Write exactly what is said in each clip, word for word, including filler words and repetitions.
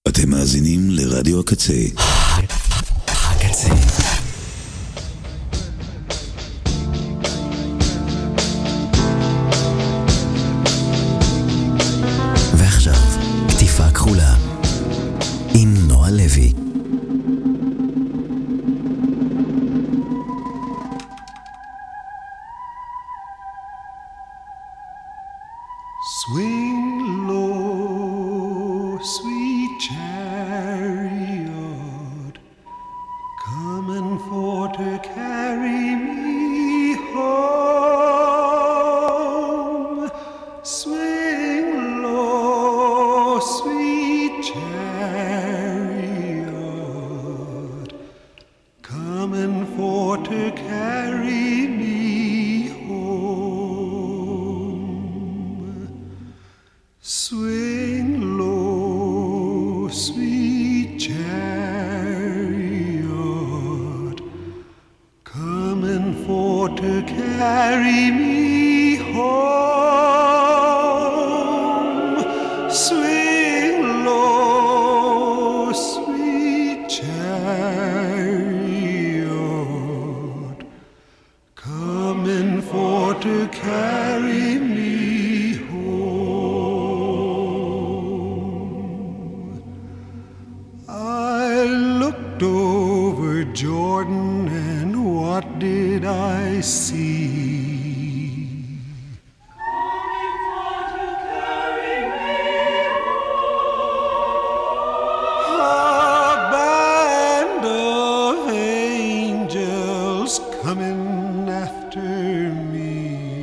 אתם מאזינים לרדיו הקצה. הקצה. ועכשיו, כתיפה כחולה עם נועה לוי. Swing low, sweet chariot, coming for to carry me home. Swing low, sweet chariot, coming for to carry me Swing low, sweet chariot, coming for to carry me home. Swing low, sweet chariot, coming for to carry me over Jordan, and what did I see? Coming for to carry me home. A band of angels coming after me,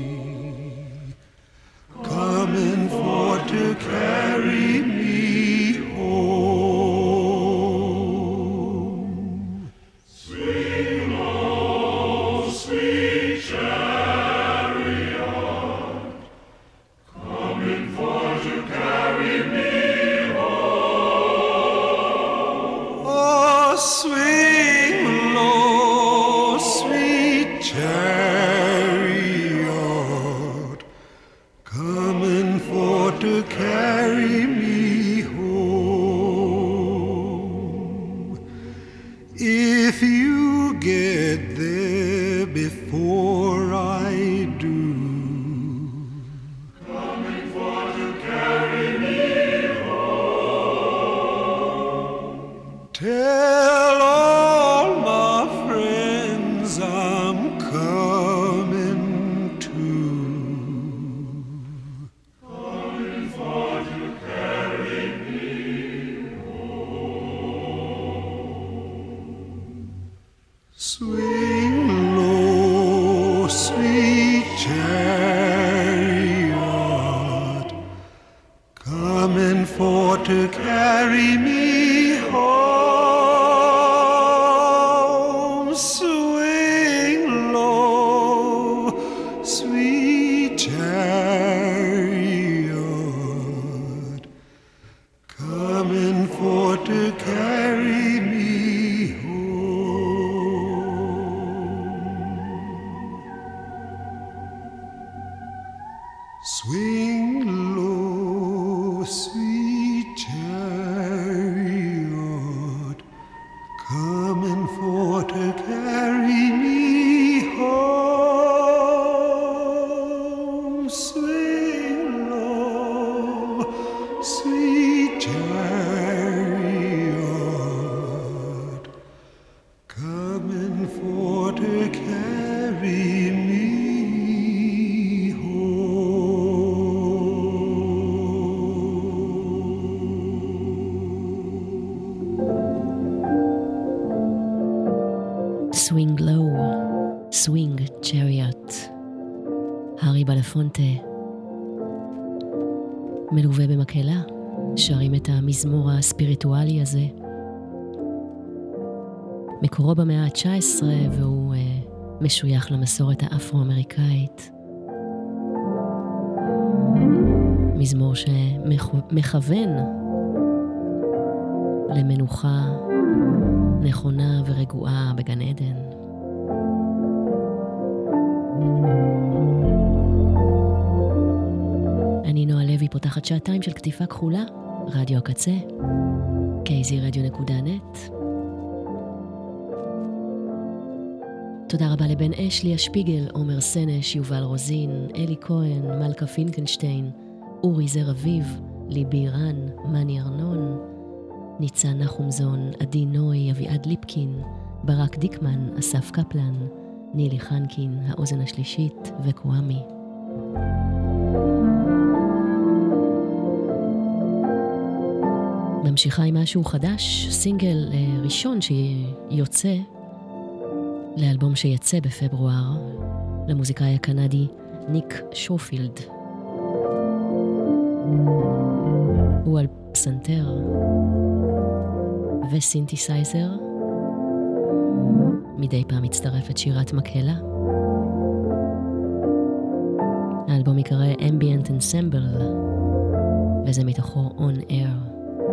coming for to carry me Swing low, swing chariot. הארי בלפונטה מלווה במקהלה, שרים את המזמור הספיריטואלי הזה. מקורו במאה ה-תשע עשרה והוא uh, משוייך למסורת האפרו-אמריקאית. מזמור שמכוון למנוחה נכונה ורגועה בגן עדן. אני נועה לוי פותחת שעתיים של כתיפה כחולה רדיו הקצה, קי זי רדיו נקודה נט. תודה רבה לבן אשלי השפיגל, עומר סנש, יובל רוזין, אלי כהן, מלכה פינקנשטיין, אורי זר אביב, ליבי רן, מני ארנון, ניצן נחומזון, עדי נוי, אביעד ליפקין, ברק דיקמן, אסף קפלן, נילי חנקין, האוזן השלישית וקוואמי. ממשיכה עם משהו חדש, סינגל אה, ראשון שיוצא לאלבום שיצא בפברואר, למוזיקאי הקנדי ניק שופילד. הוא על פסנתר וסינתסייזר, מדי פעם מצטרפת שירת מקהלה. האלבום יקרא Ambient Ensemble, וזה מתוכו On Air.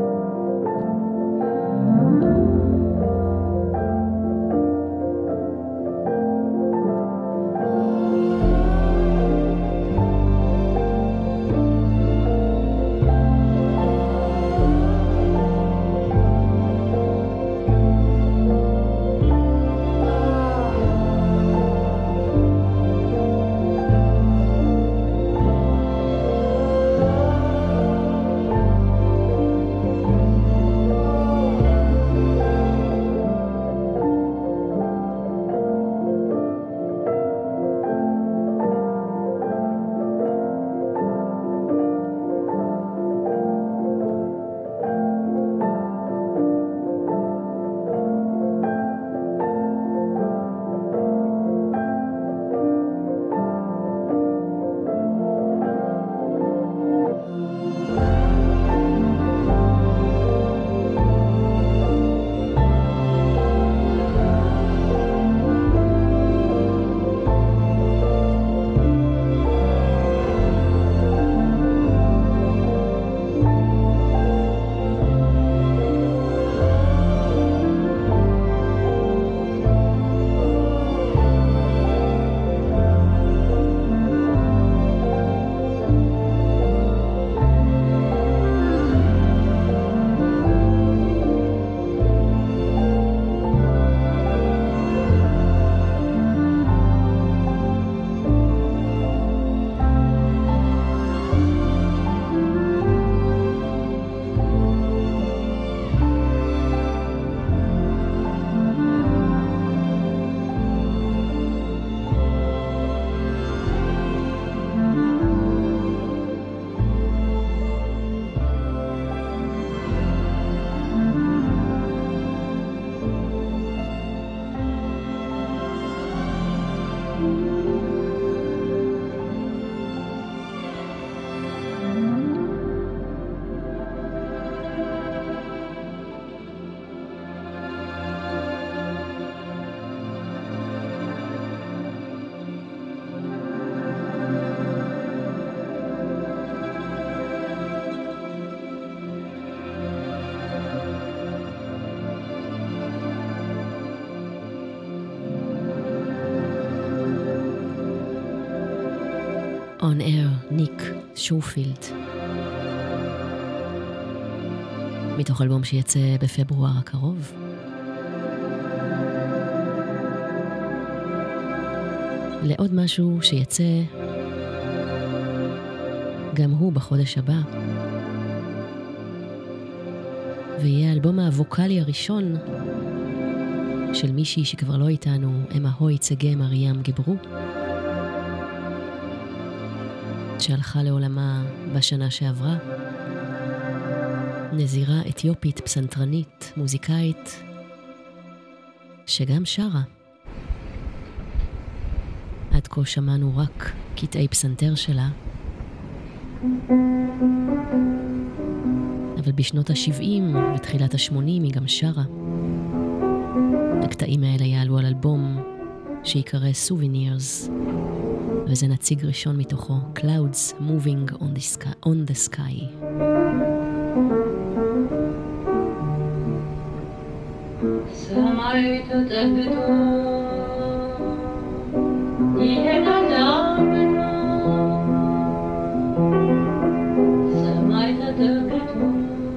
On Air, ניק שופילד. מתוך אלבום שיצא בפברואר הקרוב. לעוד משהו שיצא גם הוא בחודש הבא. ויהיה האלבום הווקלי הראשון של מישהי שכבר לא איתנו, אמה הוי צגה מריאם גברו, שהלכה לעולמה בשנה שעברה. נזירה אתיופית, פסנתרנית, מוזיקאית, שגם שרה. עד כה שמענו רק קטעי פסנתר שלה, אבל בשנות ה-שבעים ותחילת ה-שמונים היא גם שרה. הקטעים האלה יעלו על אלבום שיקרא Souvenirs, וזה נציג ראשון מתוכו, Clouds Moving on the Sky. On the sky. ሰማይ ተጠግቶ ይሄዳል አብሮ ሰማይ ተጠግቶ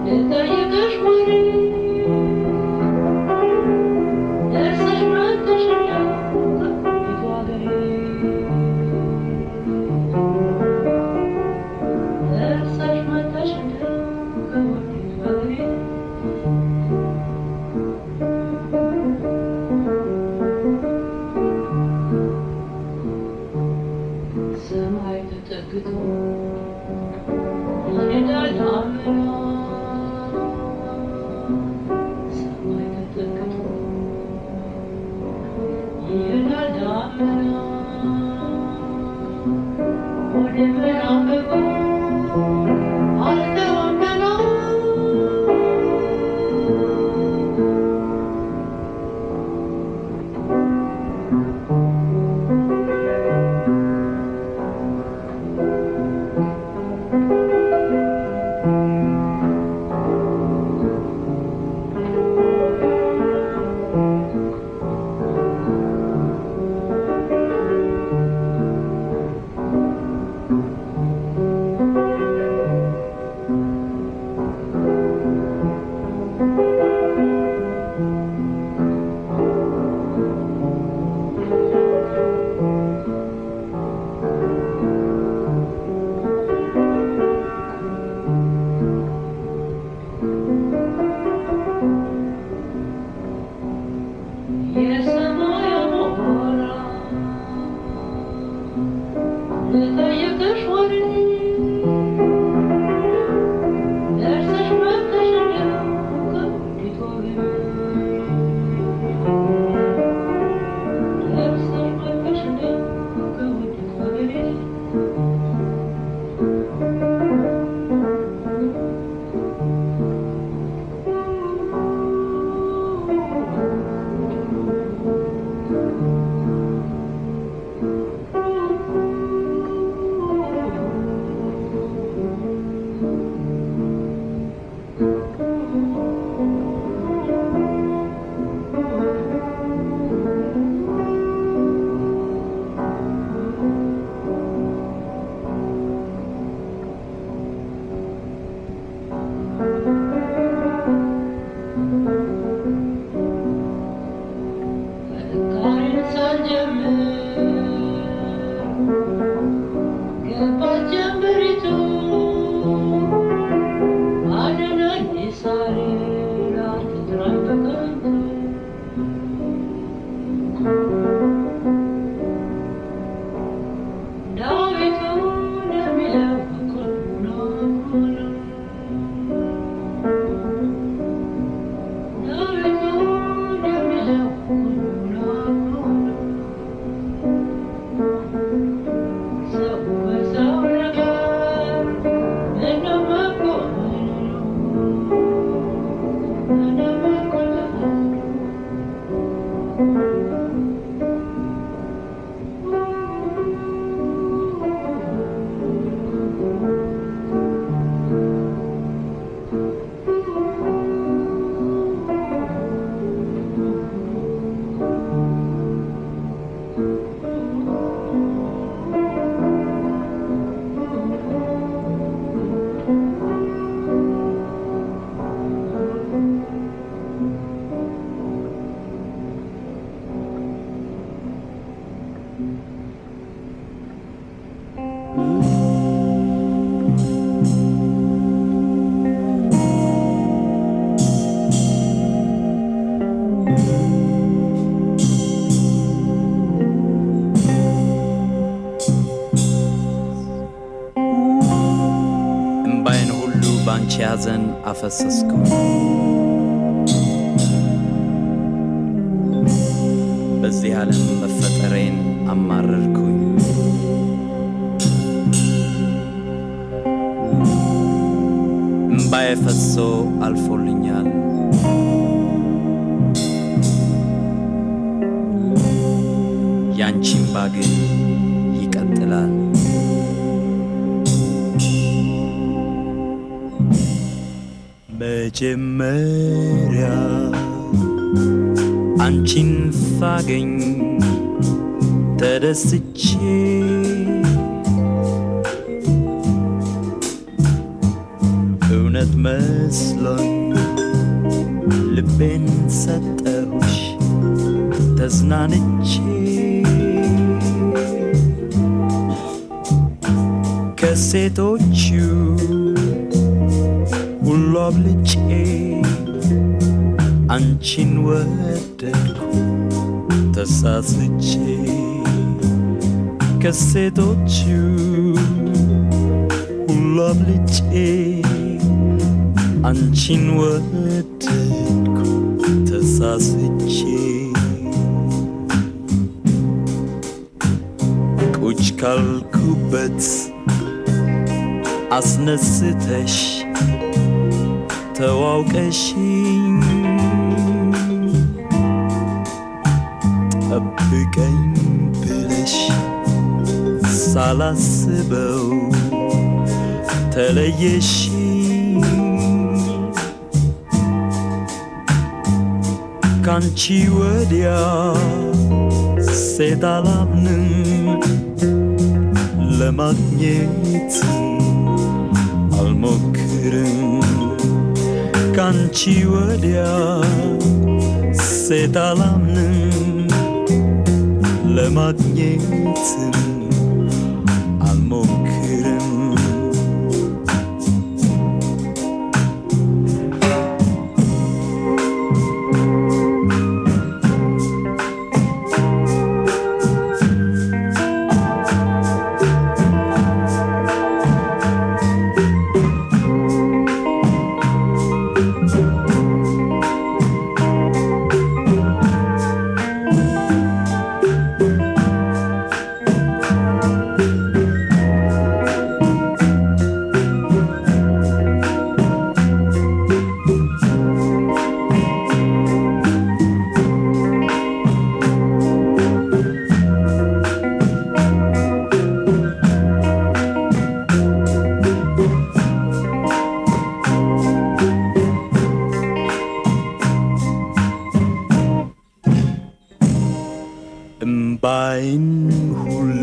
ሐዘን አፈሰስኩ በዚህ ዓለም መፈጠሬን አማረርኩኝ እምባዬ ፈሶ አልፎልኛል ያንቺም ባግን ይቀጥላል መጀመሪያ አንቺን ሳገኝ ተደስቼ እውነት መስሎኝ ልቤን ሰጠሁሽ ተዝናንቼ ከሴቶቹ ሁሉ አብልጬ አንቺን ወደድኩ ተሳስቼ ከሴቶቹ ሁሉ አብልጬ አንቺን ወደድኩ ተሳስቼ ቁጭ ካልኩበት አስነስተሽ ተዋውቀሽኝ ጠብቀኝ ብለሽ ሳላስበው ተለየሽኝ ካንቺ ወዲያ ሴት አላምንም ለማግኘት አልሞክርም ካንቺ ወዲያ ሴት አላምንም ለማግኘት አልሞክርም እምባይን ሁሉ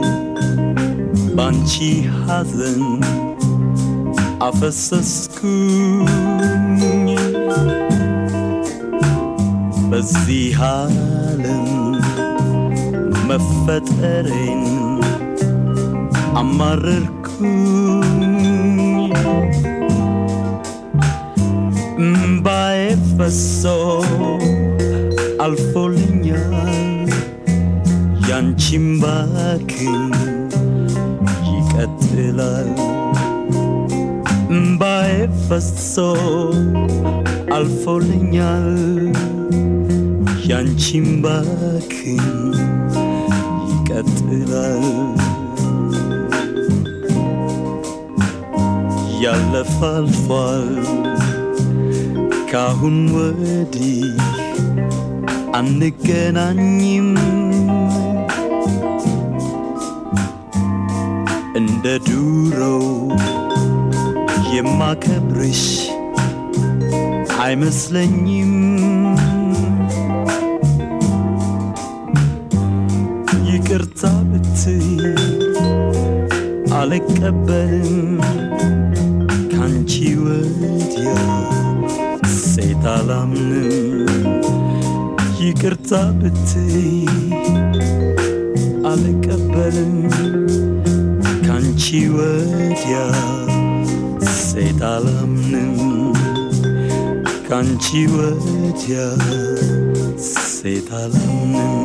ባንቺ ሐዘን አፈሰስኩኝ በዚህ ዓለም መፈጠሬን አማረርኩኝ እምባዬ ፈሶ አልፎልኛል ያንቺም ባክን ይቀጥላል እምባዬ ፈሶ አልፎልኛል ያንቺም ባክን ይቀጥላል ያለፈ አልፏል ካሁን ወዲህ አንገናኝም እንደ ዱሮው የማከብርሽ አይመስለኝም ይቅርታ ብትይ አልቀበልም ካንቺ ወዲያ ሴት አላምንም ይቅርታ ብትይ አልቀበልም ካንቺ ወዲያ ሴት አላምንም ካንቺ ወዲያ ሴት አላምንም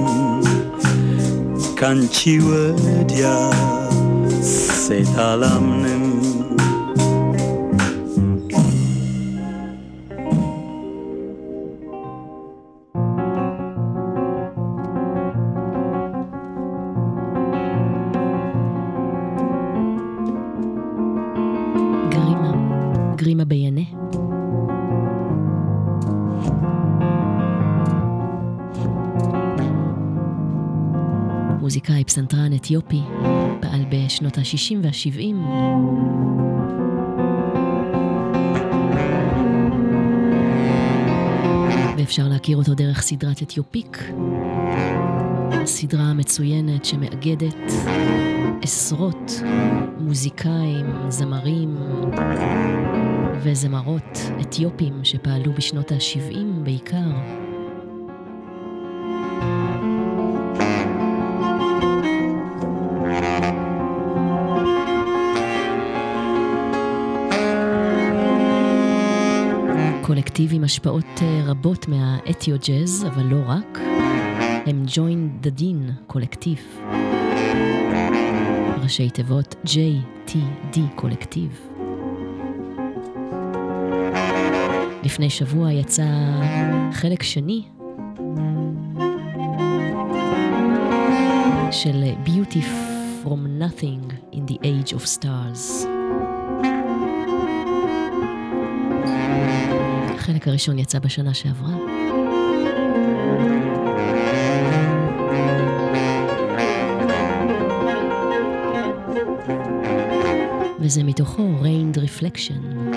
ካንቺ ወዲያ ሴት አላምንም גרימה ביינה. מוזיקאי פסנתרן אתיופי, פעל בשנות ה-שישים וה-שבעים. ואפשר להכיר אותו דרך סדרת אתיופיק, סדרה מצוינת שמאגדת עשרות מוזיקאים, זמרים וזמרות אתיופים שפעלו בשנות ה-שבעים בעיקר. קולקטיב עם השפעות רבות מהאתיו-ג'אז, אבל לא רק. הם Join the Dean קולקטיב. ראשי תיבות ג'יי טי די קולקטיב. לפני שבוע יצא חלק שני של Beauty from Nothing in the Age of Stars. החלק הראשון יצא בשנה שעברה. וזה מתוכו Rained Reflection.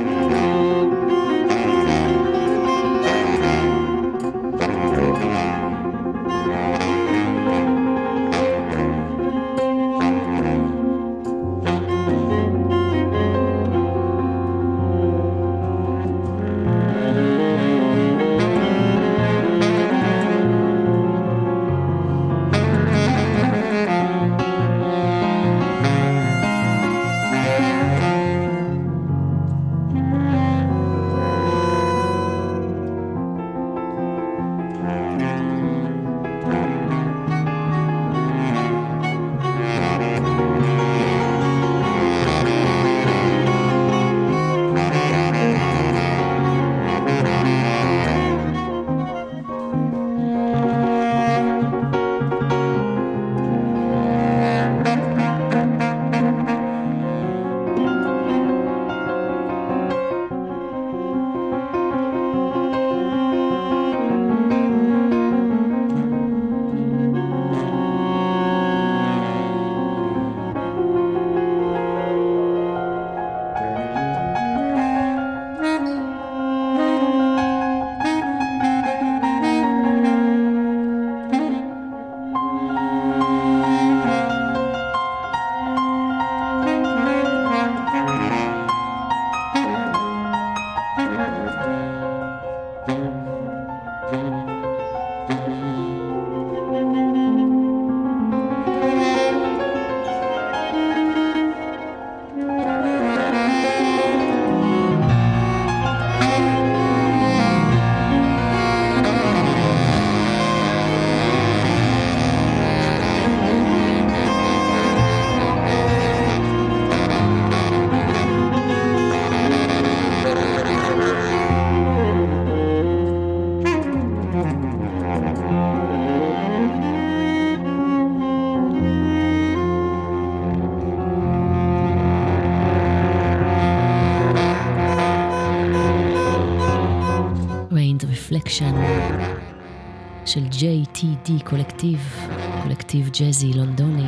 Reflection של ג'יי טי די קולקטיב, קולקטיב ג'אזי לונדוני.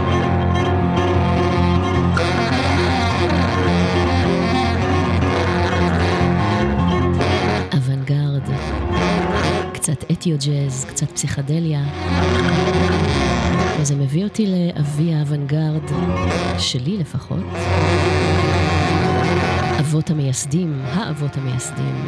אוונגרד, קצת אתיו-ג'אז, קצת פסיכדליה. וזה מביא אותי לאבי האוונגרד, שלי לפחות. אבות המייסדים, האבות המייסדים.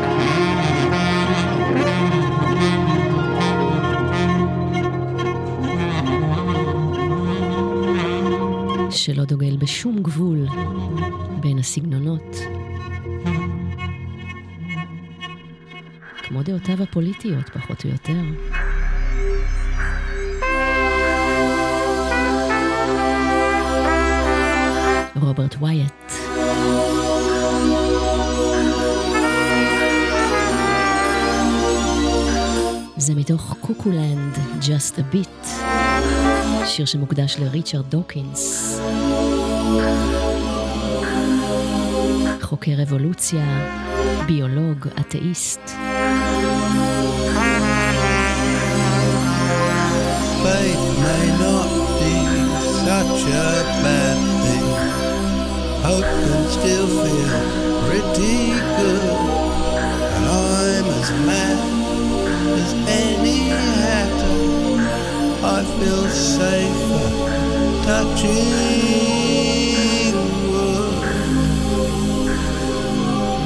שלא דוגל בשום גבול בין הסגנונות. כמו דעותיו הפוליטיות, פחות או יותר. רוברט ווייט. זה מתוך קוקולנד, Just a Bit, שיר שמוקדש לריצ'רד דוקינס, חוקר אבולוציה, ביולוג, אתאיסט. Faith may not be such a bad thing. Hope can still feel pretty good. And I'm as mad as any hatter. I feel safer touching wood.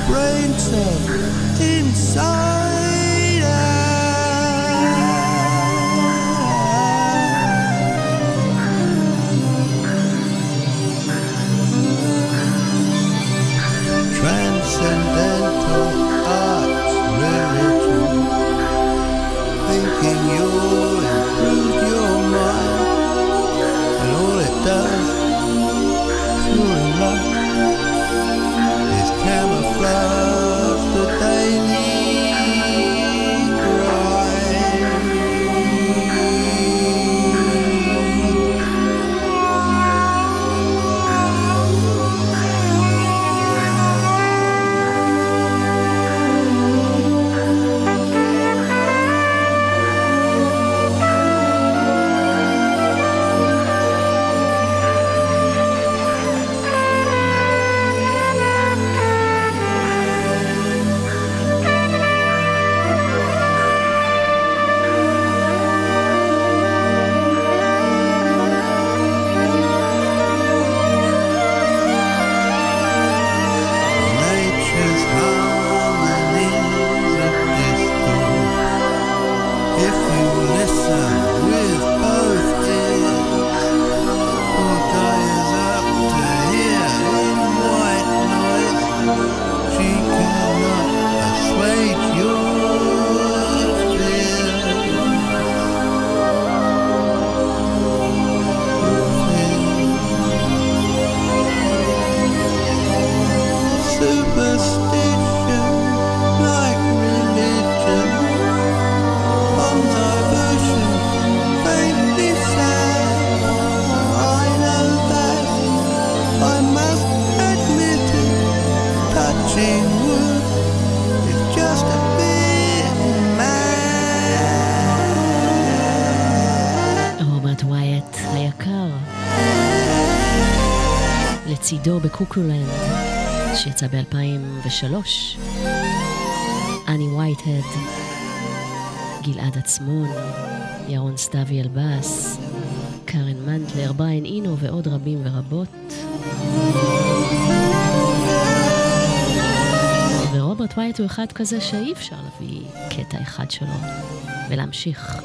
brain cells inside transcendental arts religion, thinking you'll improve your mind, and all it does, pure luck, is camouflage the daily grind. Nature's harmonies are distant if you listen with both ears. Poor guy is up to here in white noise. She cannot assuage your fears. Superstition, like religion, on diversion, faintly sad. I know that, I must admit it, touching wood is just a bit mad. רוברט ווייט היקר, לצידו בקוקולנד שיצא ב-אלפיים ושלוש, אני וייטהד, גלעד עצמון, ירון סתיוי על בס, קרן מנטלר, בריין אינו ועוד רבים ורבות. ורוברט ווייט הוא אחד כזה שאי אפשר להביא קטע אחד שלו ולהמשיך.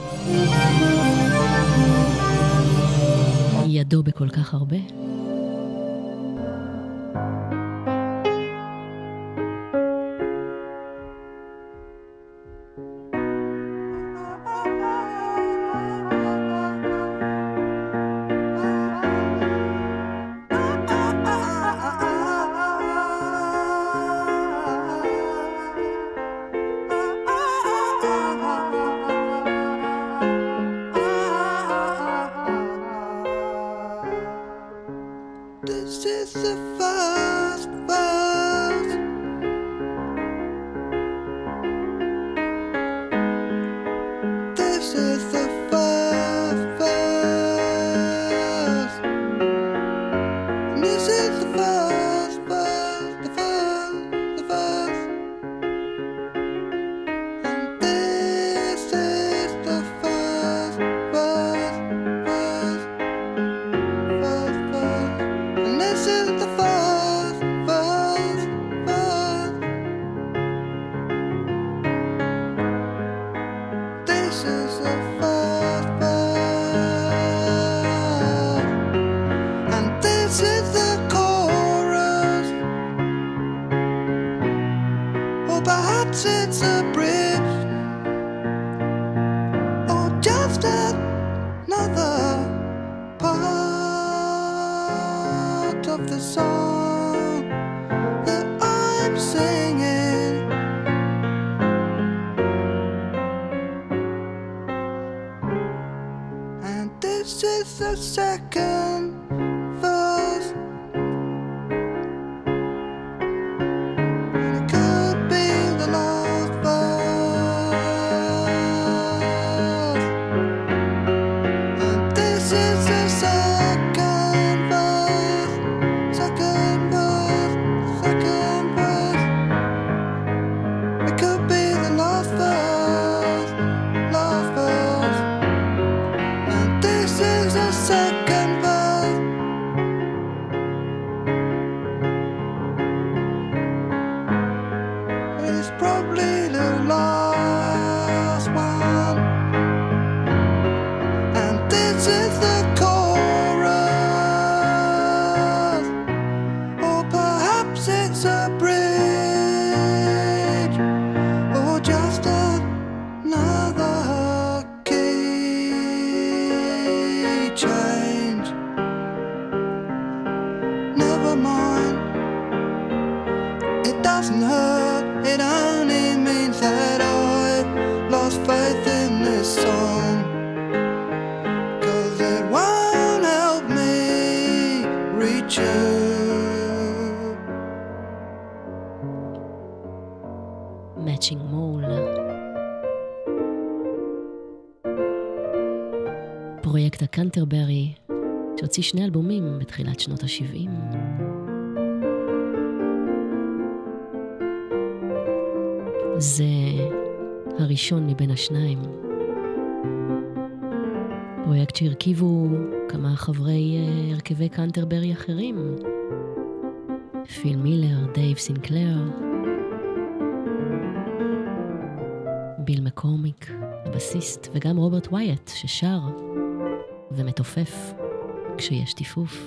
ידו בכל כך הרבה. This is the first verse. This is the first verse. This is the first verse, the first, the first. And this is the first verse, verse, verse, verse. And this is the first verse, verse. This is the first verse. And this is the chorus. Or perhaps it's a bridge. Or just another part of the song that I'm singing. And this is the second verse. And it could be the last verse. And this is the second verse, second verse, second verse. It could be the last verse, last verse. And this is the second verse. Perhaps it's the chorus, or perhaps it's a bridge, or just another key change. Never mind, it doesn't hurt, it only means that I've lost faith in this song, 'cause it won't help me reach you. Matching Mole. פרויקט הקנטרברי, שהוציא שני אלבומים בתחילת שנות ה-שבעים. זה הראשון מבין השניים. פרויקט שהרכיבו כמה חברי uh, הרכבי קנטרברי אחרים. פיל מילר, דייב סינקלר, ביל מקורמיק, הבסיסט, וגם רוברט ווייט ששר ומתופף כשיש טיפוף.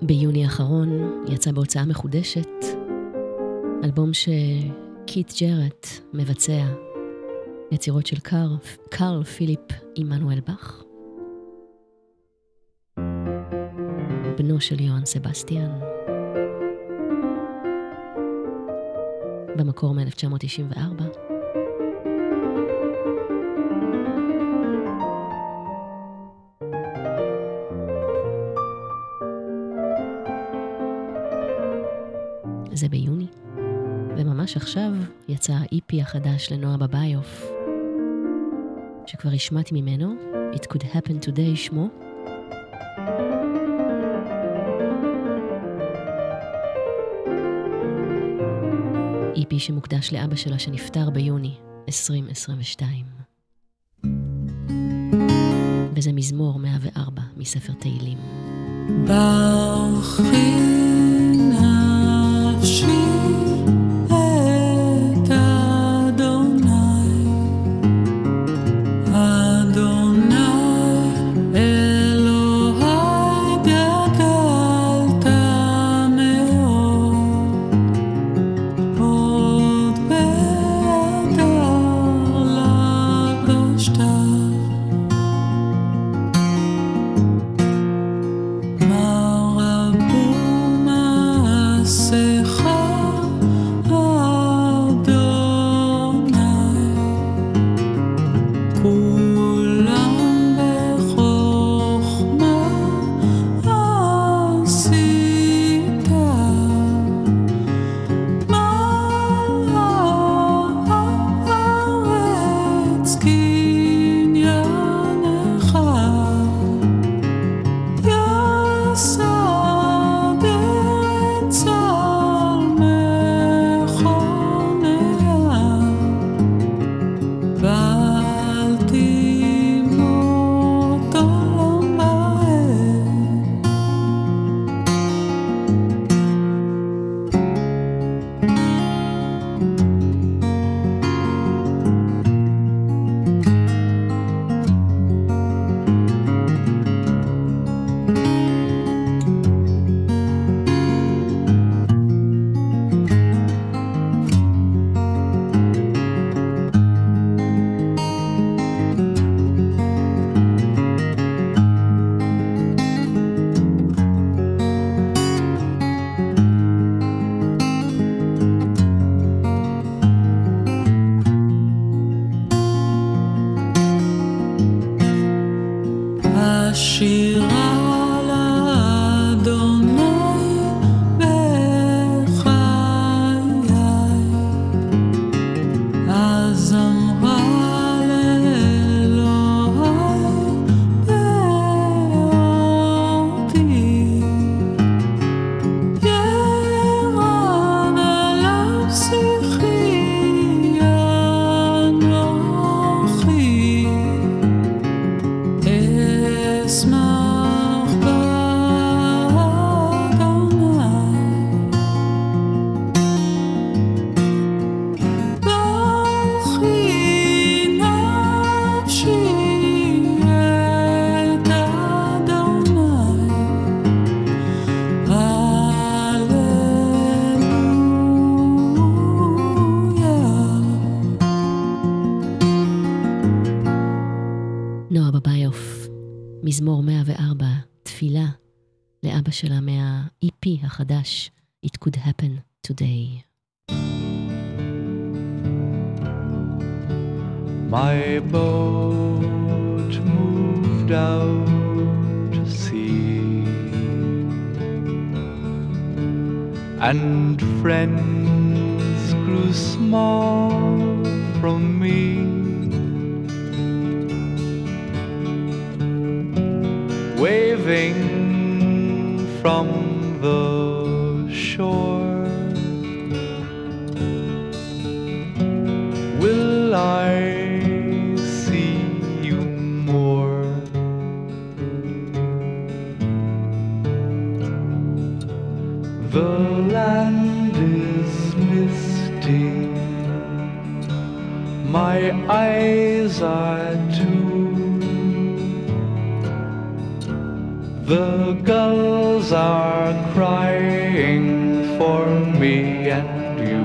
ביוני האחרון יצא בהוצאה מחודשת אלבום שקית' ג'רט מבצע, יצירות של קארל, קארל פיליפ עמנואל באך, בנו של יוהאן סבסטיאן, במקור מ-אלף תשע מאות תשעים וארבע. זה ביוני, וממש עכשיו יצא ה-אי פי החדש לנועה בביוף, שכבר השמעתי ממנו, It Could Happen Today שמו. אי פי שמוקדש לאבא שלה שנפטר ביוני עשרים עשרים ושתיים. וזה מזמור מאה וארבע מספר תהילים. ברכי נפשי את אדוני, אדוני אלוהי גדלת מאוד, עוד בהדר לבשת, מה רבו מעשיך אדוני, כולם בחוכמה עשית, הארץ קניינך, יסד ארץ על מכוניה, ואל תמות עולם בהם. השירה לאדוני בחיי, הזמרה לאלוהי בעודי, ירד עליו שיחי אנוכי, אשמח באדוני. ברכי נפשי את אדוני, הללויה. נועה בביוף, מזמור מאה וארבע, תפילה לאבא שלה מה-אי פי החדש, It Could Happen Today. My boat moved out to sea, and friends grew small from me. Waving from the shore, will I see you more? The land is misty, my eyes are too. The gulls are crying for me and you.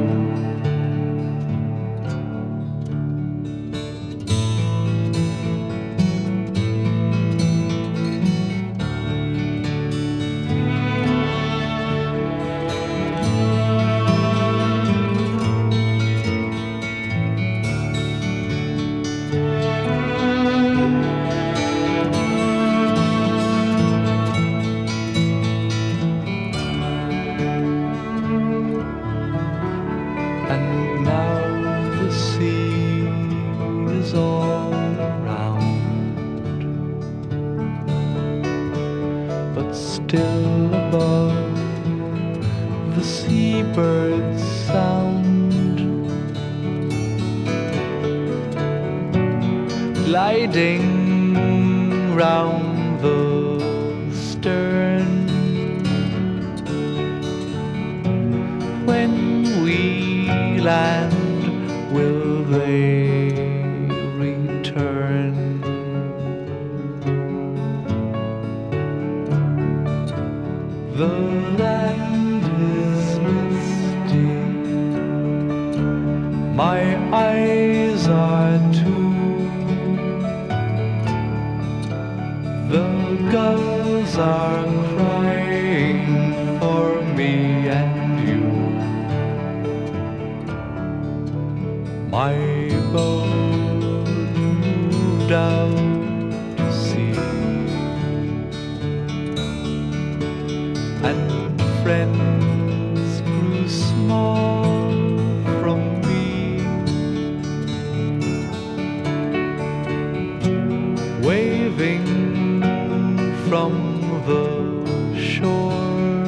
Gliding round the stern, when we land, will they return? The land is misty, my eyes are too. The gulls are crying for me and you. My boat moved out to sea, and friends grew small from me. Waving from the shore,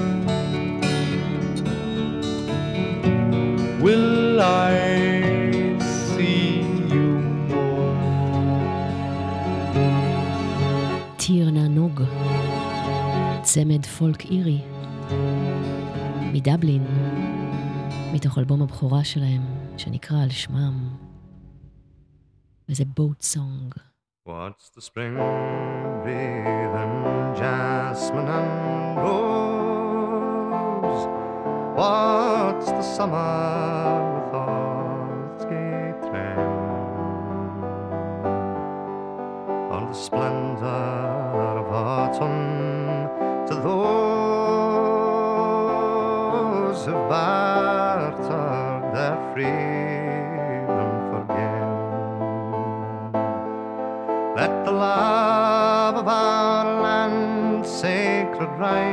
will I see you more? טיר נענוג, צמד פולק אירי, מדבלין, מתוך אלבום הבכורה שלהם, שנקרא על שמם, וזה בוט סונג. What's the spring breathing jasmine and rose? What's the summer with all its gay train? Or the splendor of autumn to those who've bartered their freedom for gain? Let the love of our land sacred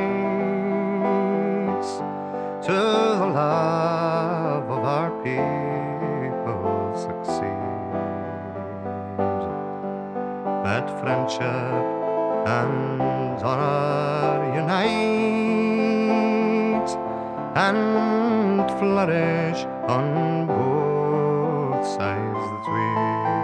rights to the love of our people succeed. Let friendship and honor unite and flourish on both sides the tweed.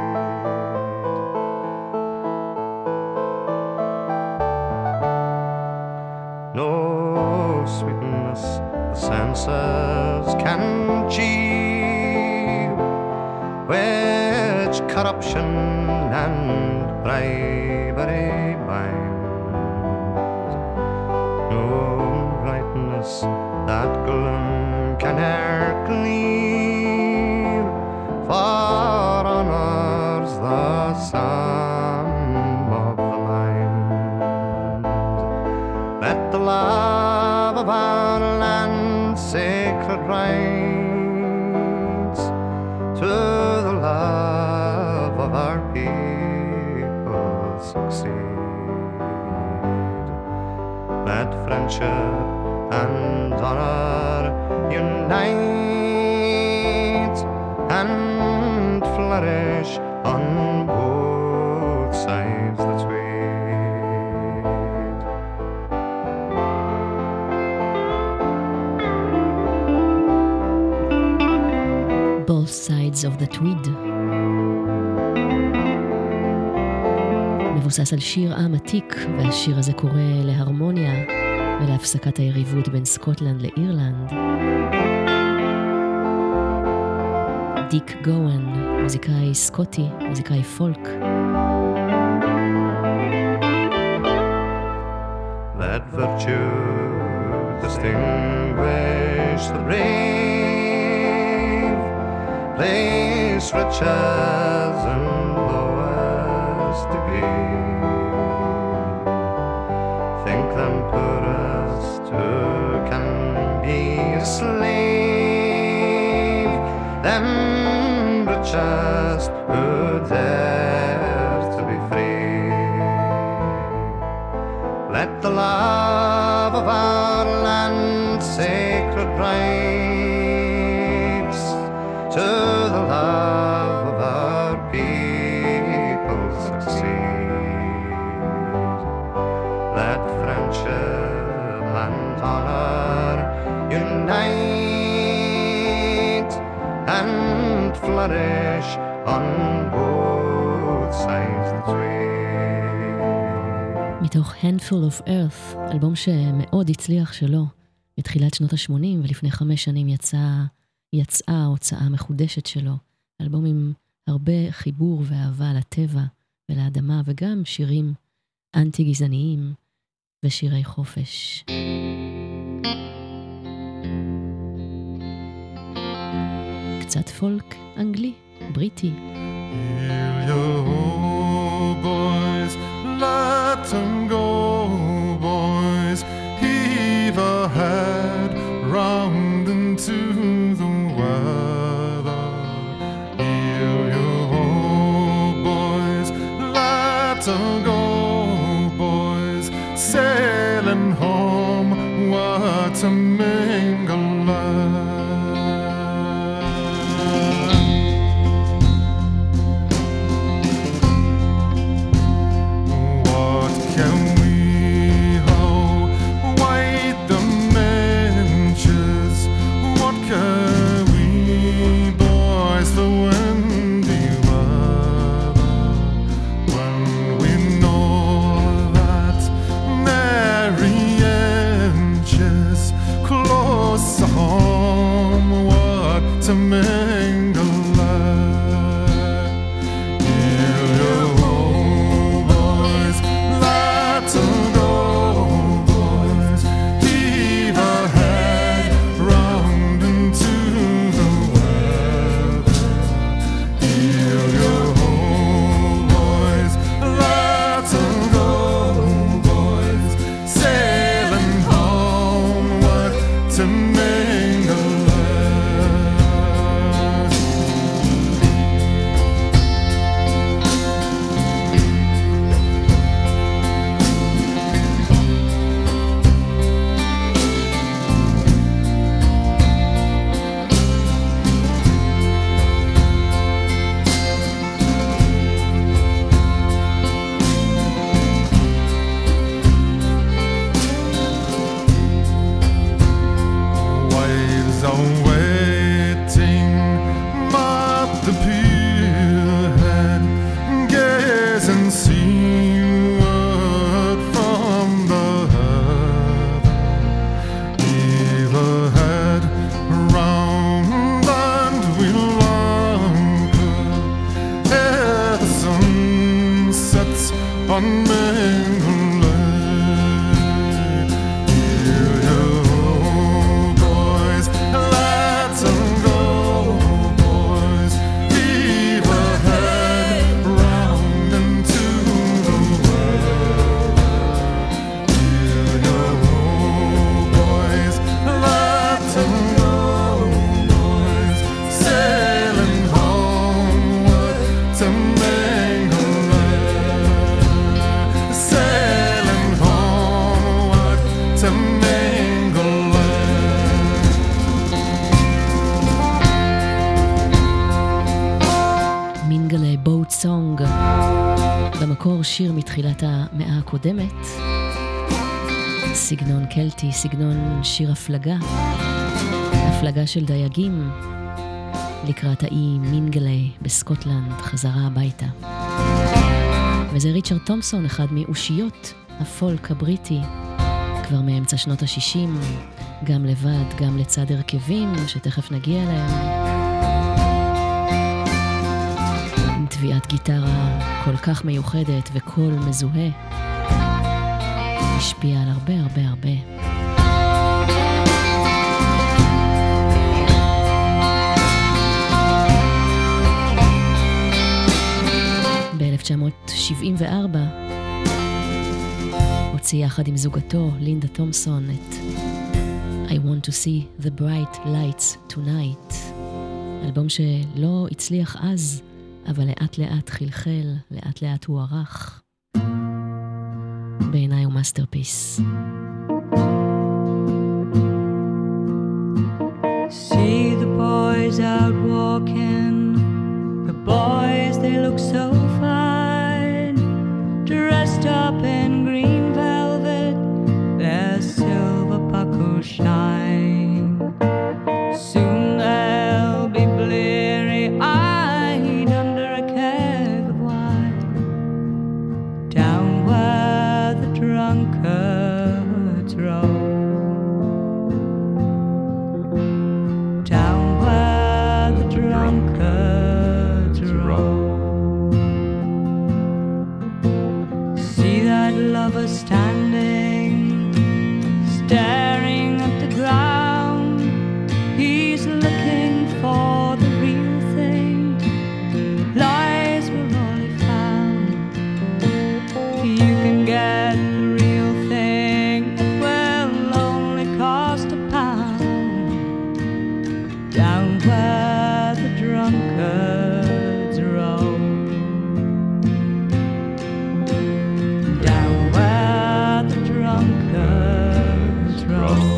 No sweetness the senses can achieve, which corruption and bribery binds. No brightness that gloom can e'er clear, for honors the sun of the mind. Let the love of our land sacred rights to the love of our people succeed. Let friendship and honor unite and flourish on both sides the tweed. Both Sides of the Tweed. מבוסס על שיר עם עתיק, והשיר הזה קורא להרמוניה ולהפסקת היריבות בין סקוטלנד לאירלנד. דיק גואן, מוזיקאי סקוטי, מוזיקאי פולק. Let virtue distinguish the brave, place riches in lowest degree. Think them poorest who can be a slave, them richest who dare to be free. Let the love of our land sacred rights to the love of our people succeed. Let friendship and honor unite and flourish on both sides of the tree. מתוך Handful of Earth, אלבום שמאוד הצליח שלו בתחילת שנות ה-שמונים, ולפני חמש שנים יצאה, יצאה הוצאה מחודשת שלו, אלבום עם הרבה חיבור ואהבה לטבע ולאדמה, וגם שירים אנטי-גזעניים ושירי חופש. קצת פולק אנגלי, בריטי. Heal your boys, let them go, boys. Heave a head round into the weather. Heal your boys, let them go, boys. Sailing home, what a mingle. To mingle light. Heal your boys, let them go, boys. Heave a head round into the weather. Heal your boys, let them go, boys. Sailing homeward to mingle light. Wives are waiting at the pierhead, gazing seaward from the heather. Heave a head round and we'll anchor ere the sun sets on mingle light. Heal your boys, let them go, boys. Heave a head round into the weather. Heal your boys, let them go, boys. Sailing homeward to mingle light. Sailing homeward to mingle light. מינגלה בוט סונג, במקור שיר מתחילת המאה הקודמת, סגנון קלטי, סגנון שיר הפלגה, הפלגה של דייגים לקראת האי מינגלה בסקוטלנד, חזרה הביתה. וזה ריצ'רד תומפסון, אחד מאושיות הפולק הבריטי, כבר מאמצע שנות ה-שישים, גם לבד, גם לצד הרכבים שתכף נגיע אליהם. עם טביעת גיטרה כל כך מיוחדת וקול מזוהה. השפיע על הרבה הרבה הרבה. ב-אלף תשע מאות שבעים וארבע הוציא יחד עם זוגתו לינדה תומפסון את I want to see the bright lights tonight, אלבום שלא הצליח אז, אבל לאט לאט חלחל, לאט לאט הוא ערך. בעיניי הוא מאסטרפיס. See the boys out walking, the boys they look so fine, dressed up in green velvet, their silver buckles shine. Soon they'll be bleary-eyed under a keg of wine, down where the drunkards roam. Down where the drunkards roam. See that lover standing, staring at the ground. He's looking for the real thing. Lies were all he found. You can get the real thing, it will only cost a pound. Down where the drunkards roam. Down where the drunkards roam.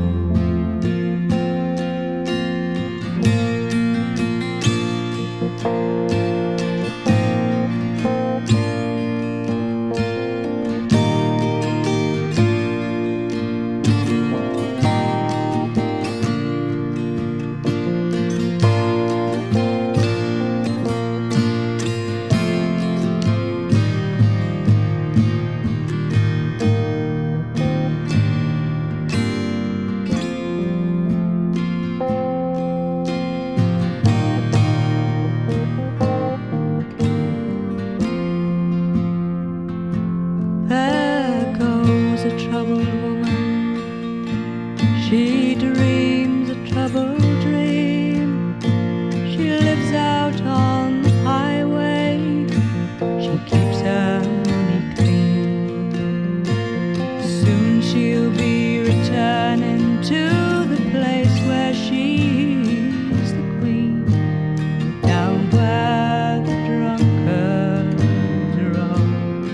There goes a troubled woman. She dreams a troubled dream. She lives out on the highway. She keeps her money clean. Soon she'll be returning to the place where she's the queen. Down where the drunkards roam.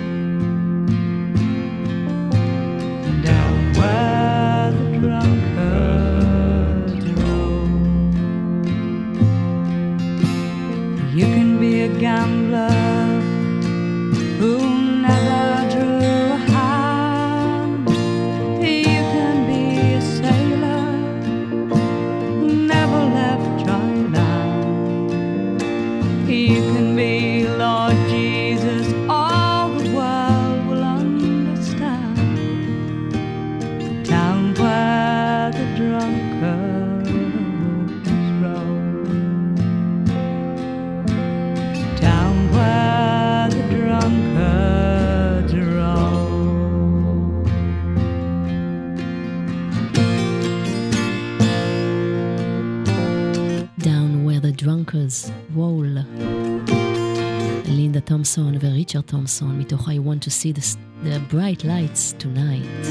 Down where the drunkards roam. You can be a gambler who never drew a hand. You can be a sailor who never left dry land. You can be Lord Jesus, all the world will understand. Down where the drunkards roam. Down where the drunkards roam. Down where the drunkards roll. לינדה תומפסון וריצ'רד תומפסון מתוך I want to see the, the bright lights tonight.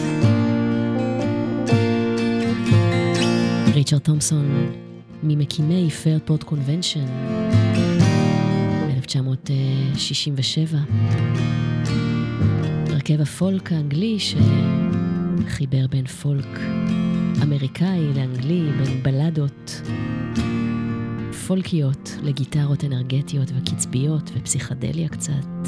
ריצ'רד תומפסון ממקימי פיירפורט קונבנשן ב-אלף תשע מאות שישים ושבע. הרכב הפולק האנגלי שחיבר בין פולק אמריקאי לאנגלי, בין בלדות פולקיות לגיטרות אנרגטיות וקצביות ופסיכדליה קצת.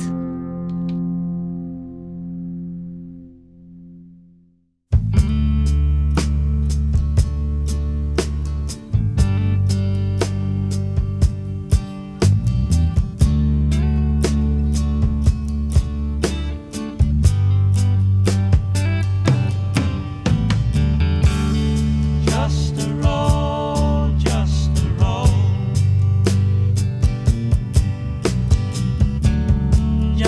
Just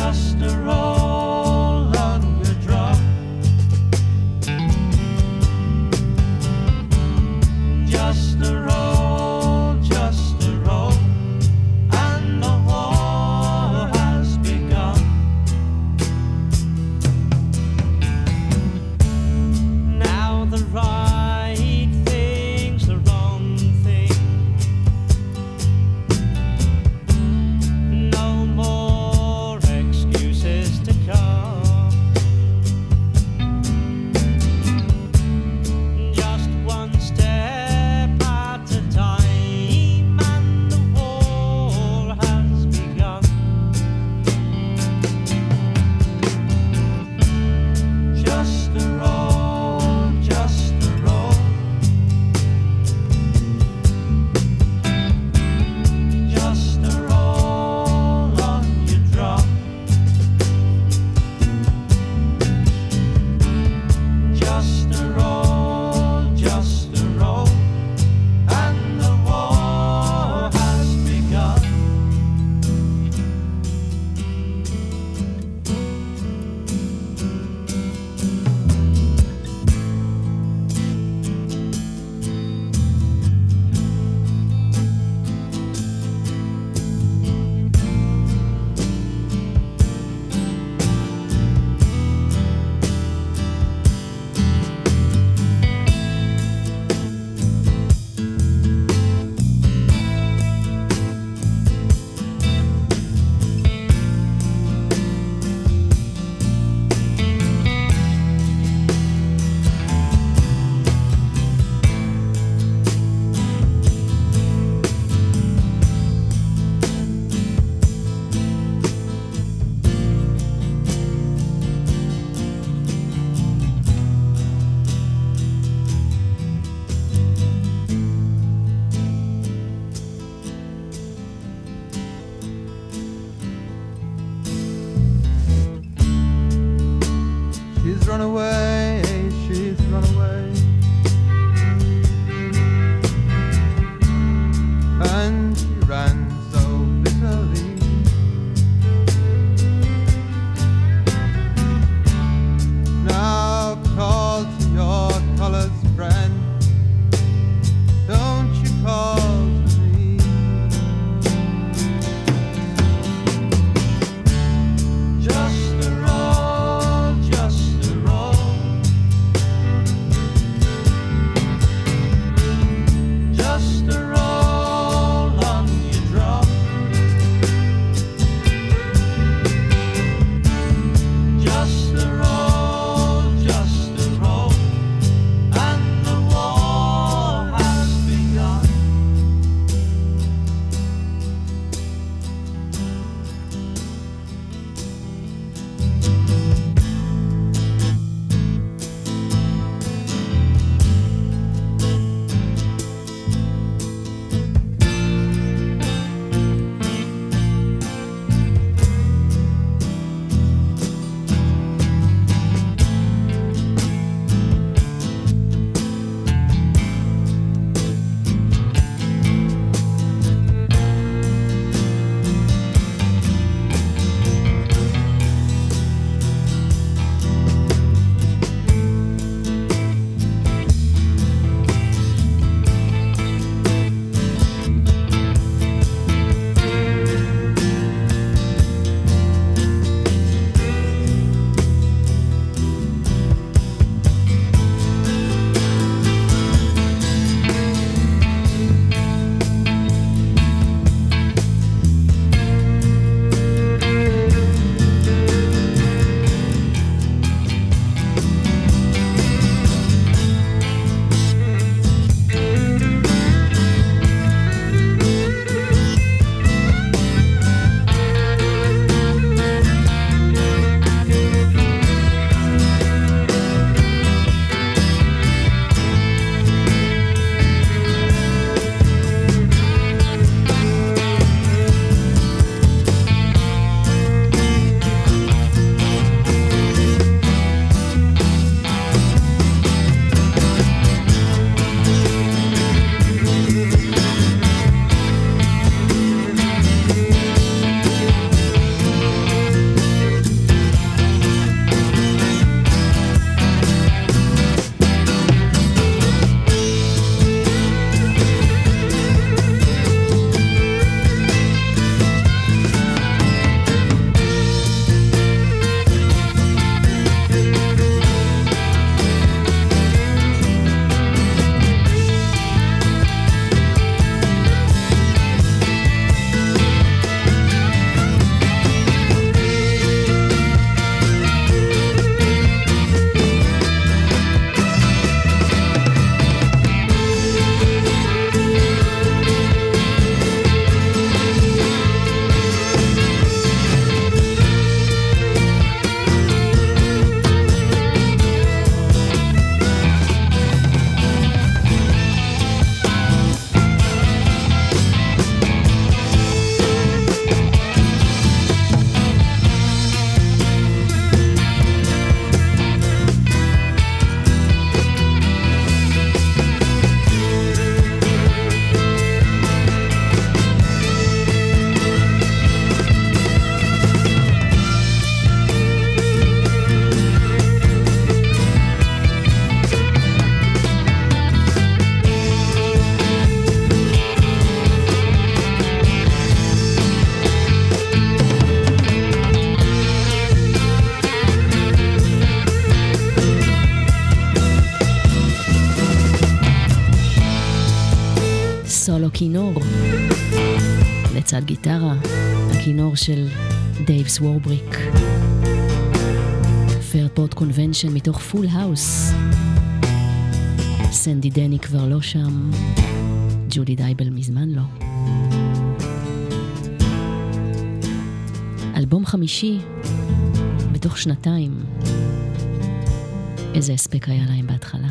run away, she's run away. And she ran so bitterly. Now call to your colors, friend. Don't you call to me. Just a roll, just a roll. Just a roll on your drum. Just a roll, just a roll. And the war has begun. סולו כינור לצד גיטרה, הכינור של דייב סוורבריק, פיירפורט קונבנשן מתוך פול האוס. סנדי דני כבר לא שם, ג'ודי דייבל מזמן לא. אלבום חמישי בתוך שנתיים, איזה הספק היה להם בהתחלה.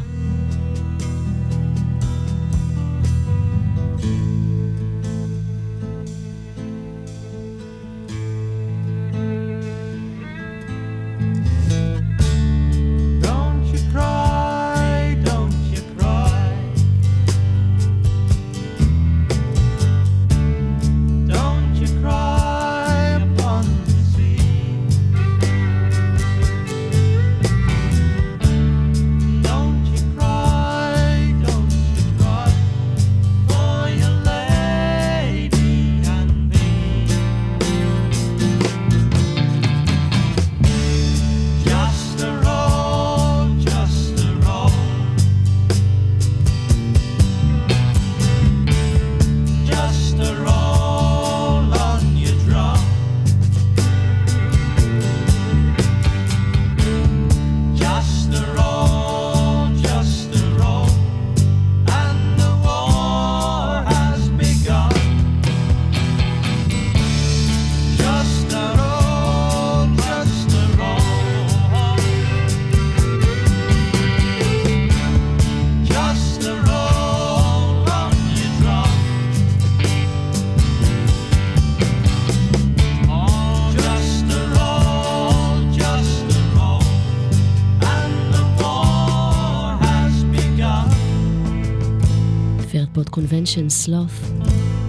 Convention Sloth.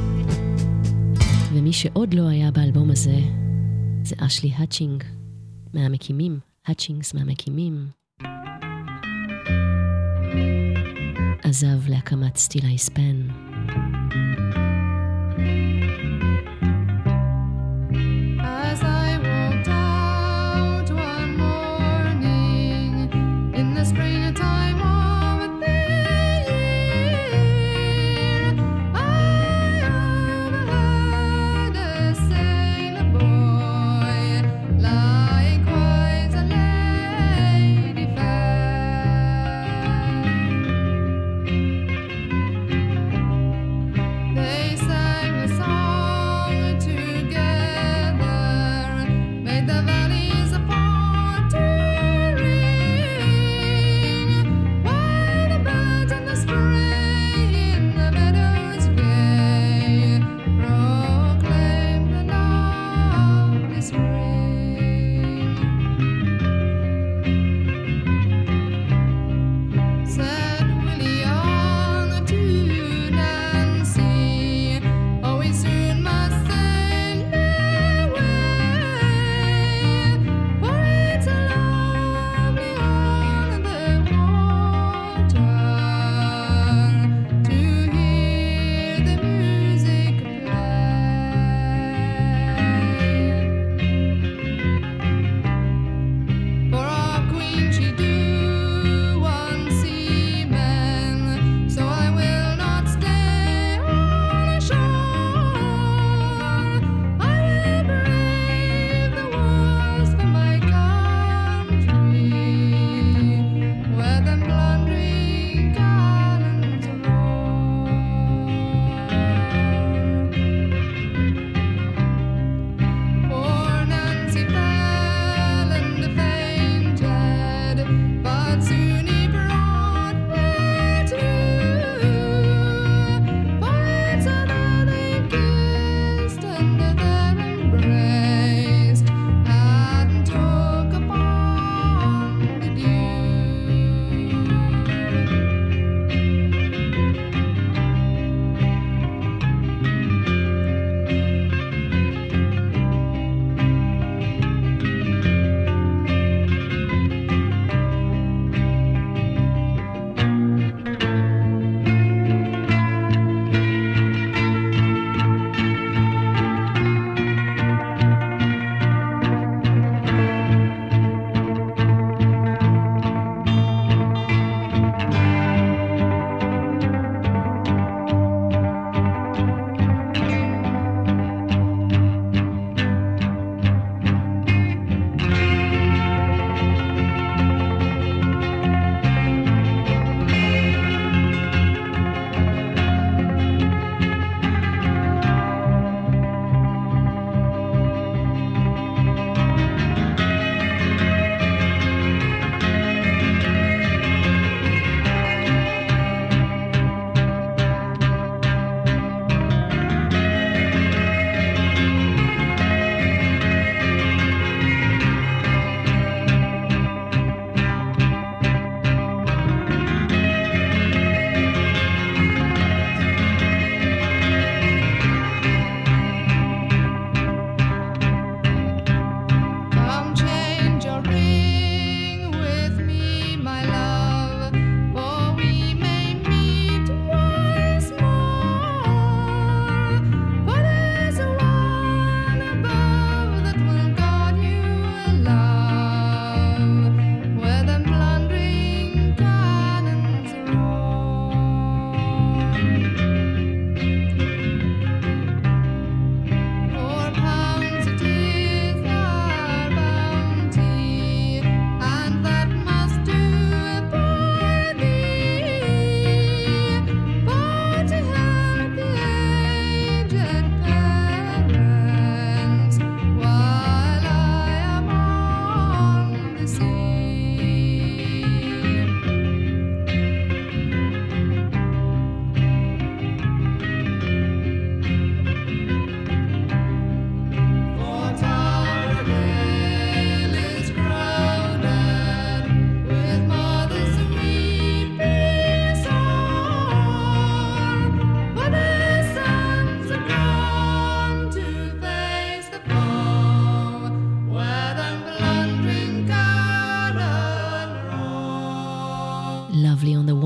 ומי שעוד לא היה באלבום הזה, זה אשלי האצ'ינג, מהמקימים, האצ'ינגס מהמקימים. עזב להקמת סטיל אייספן. As I walked out one morning in the springtime of the year, I overheard a sailor boy lying quite a lady fair.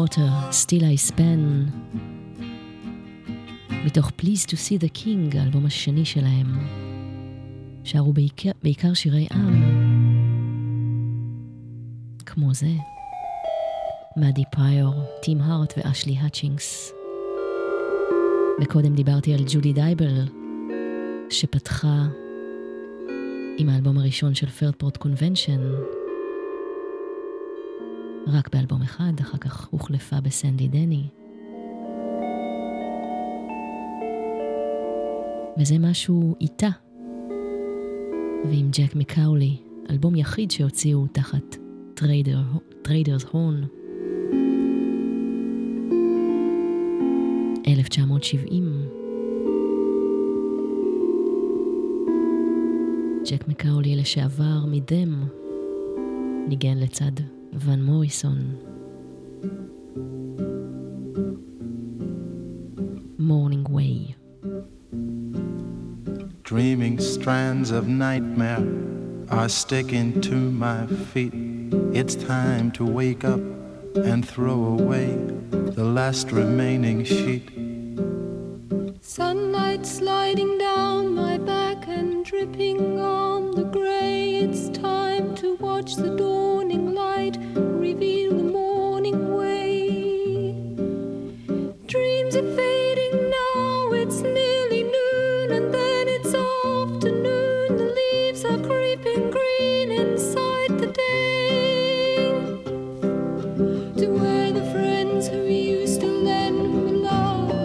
Carter, Still I Span, מתוך Please to See the King, האלבום השני שלהם. שרו בעיקר, בעיקר שירי עם, כמו זה. מאדי פריור, טים הארט ואשלי האצ'ינגס. וקודם דיברתי על ג'ודי דייבל, שפתחה עם האלבום הראשון של פרדפורט קונבנשן, רק באלבום אחד, אחר כך הוחלפה בסנדי דני. וזה משהו איתה, ועם ג'ק מקאולי, אלבום יחיד שהוציאו תחת טריידר, טריידרס הורן. אלף תשע מאות שבעים. ג'ק מקאולי לשעבר מדם ניגן לצד ון מוריסון. Morning Way. Dreaming strands of nightmare are sticking to my feet. It's time to wake up and throw away the last remaining sheet. Sunlight sliding down my back and dripping on the gray. It's time to watch the dawning light reveal the morning way. Dreams are fading now, it's nearly noon, and then it's afternoon. The leaves are creeping green inside the day. To where the friends who used to lend me love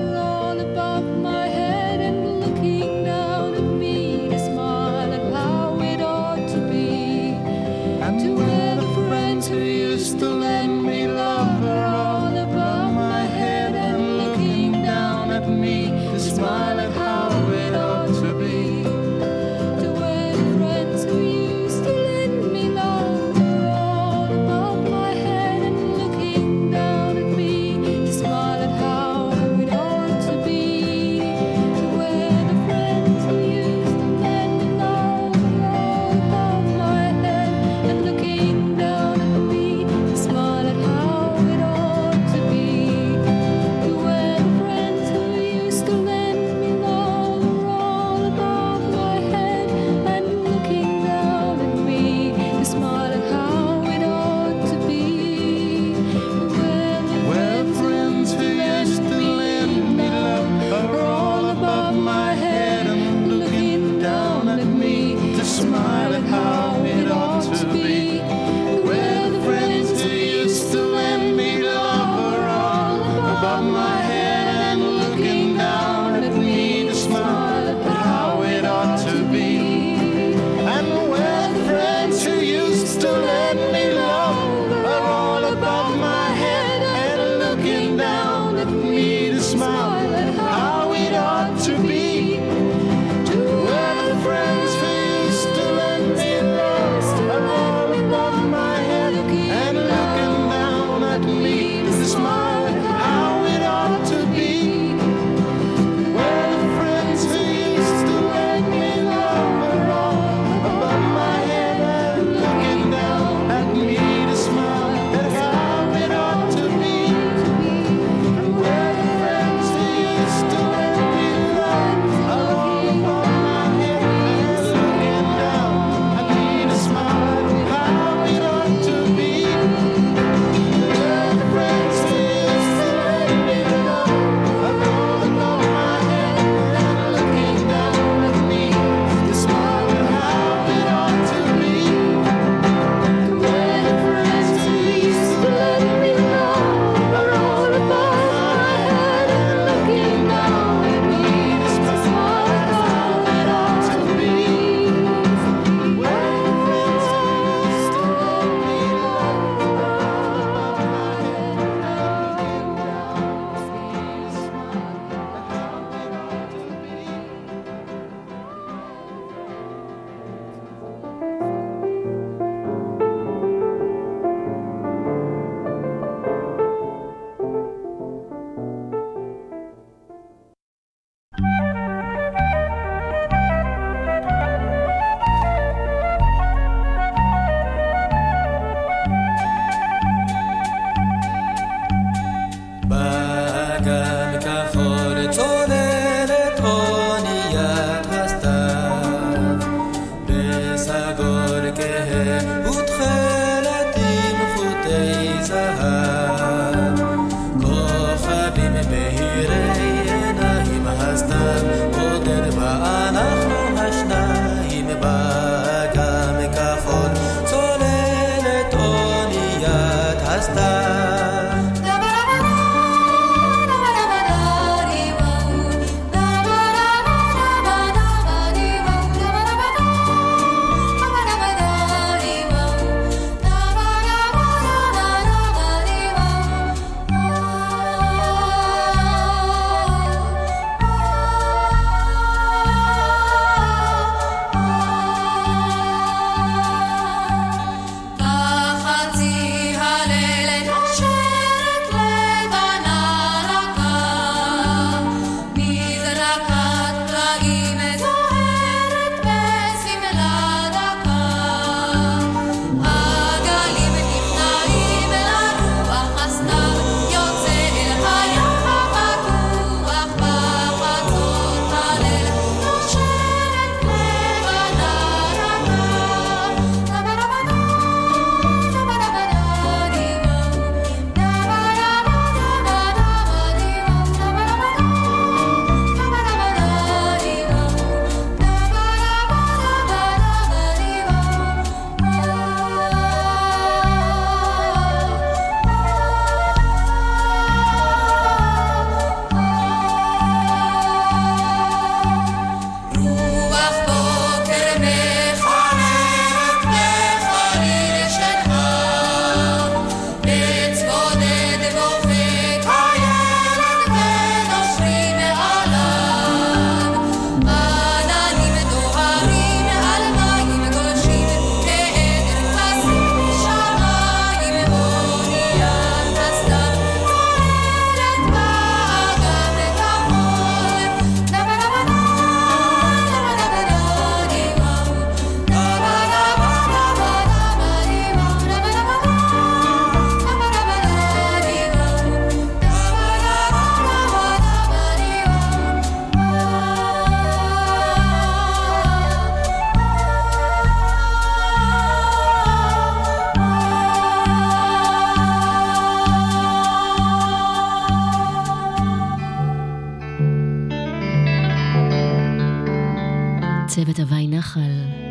צוות הוואי נחל,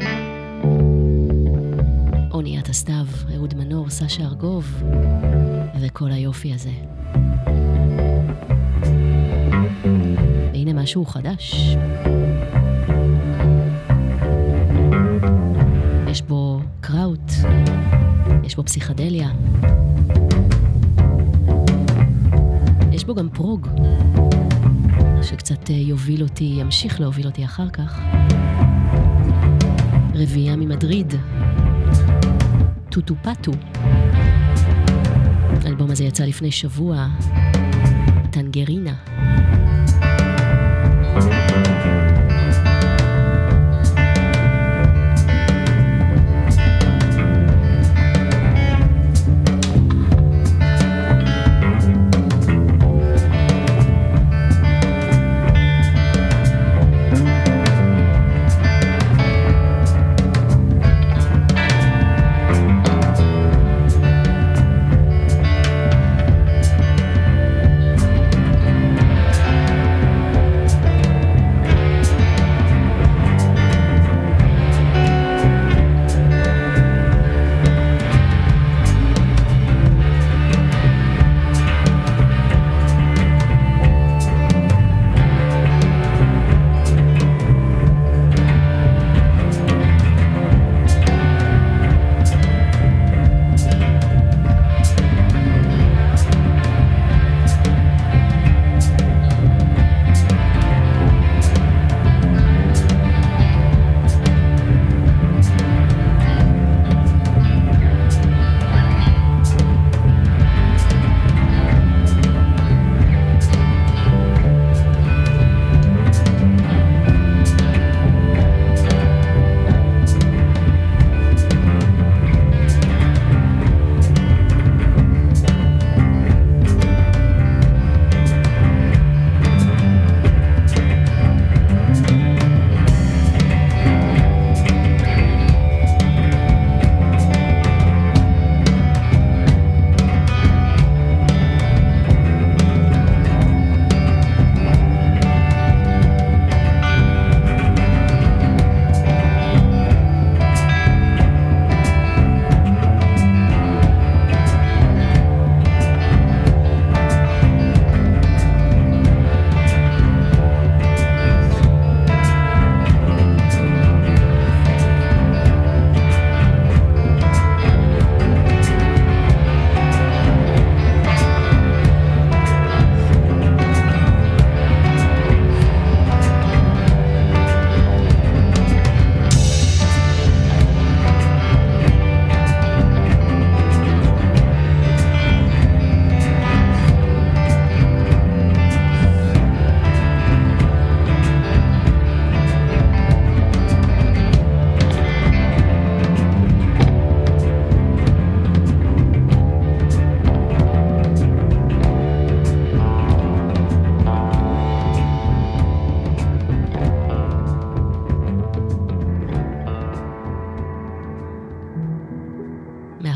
אוניית הסתיו, אהוד מנור, סשה ארגוב, וכל היופי הזה. והנה משהו חדש. יש בו קראוט, יש בו פסיכדליה, יש בו גם פרוג, שקצת יוביל אותי, ימשיך להוביל אותי אחר כך. רביעייה ממדריד, טוטו פטו. האלבום הזה יצא לפני שבוע, טנגרינה.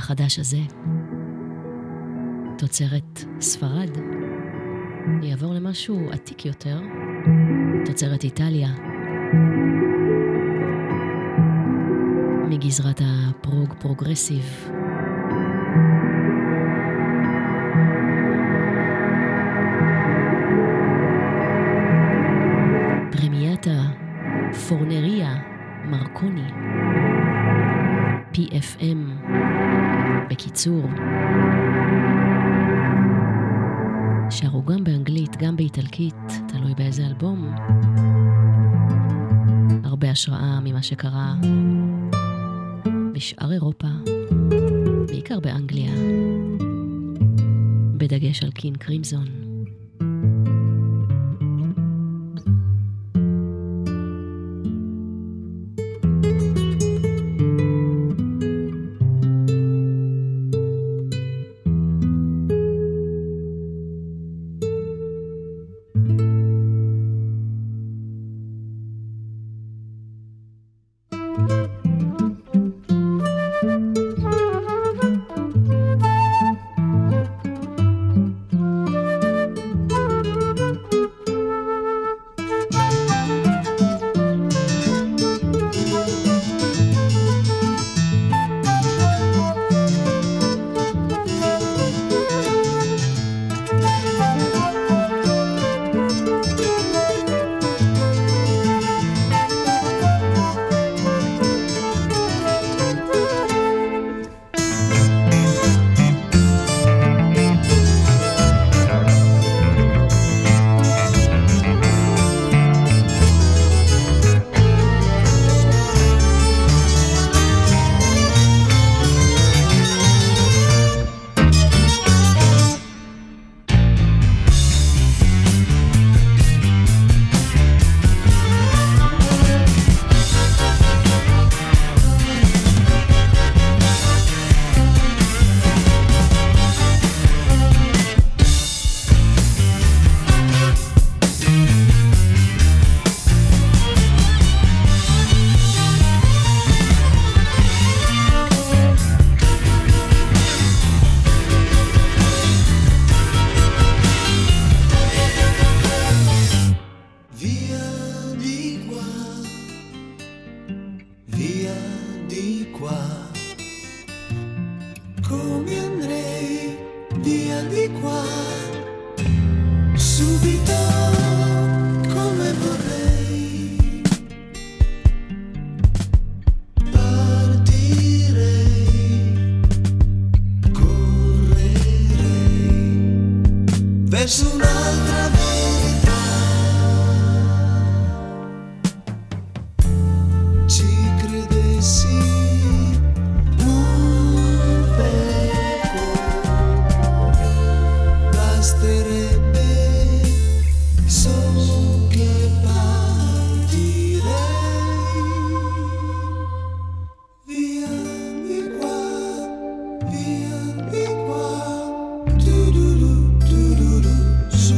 החדש הזה, תוצרת ספרד, יעבור למשהו עתיק יותר, תוצרת איטליה, מגזרת הפרוג פרוגרסיב. פרמיאטה פורנריה מרקוני, פי אף אם בקיצור. שרו גם באנגלית, גם באיטלקית, תלוי באיזה אלבום. הרבה השראה ממה שקרה בשאר אירופה, בעיקר באנגליה, בדגש על קין קרימזון. So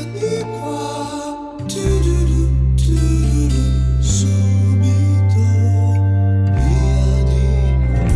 di qua, tu-du-du, tu-du-du, subito via di qua.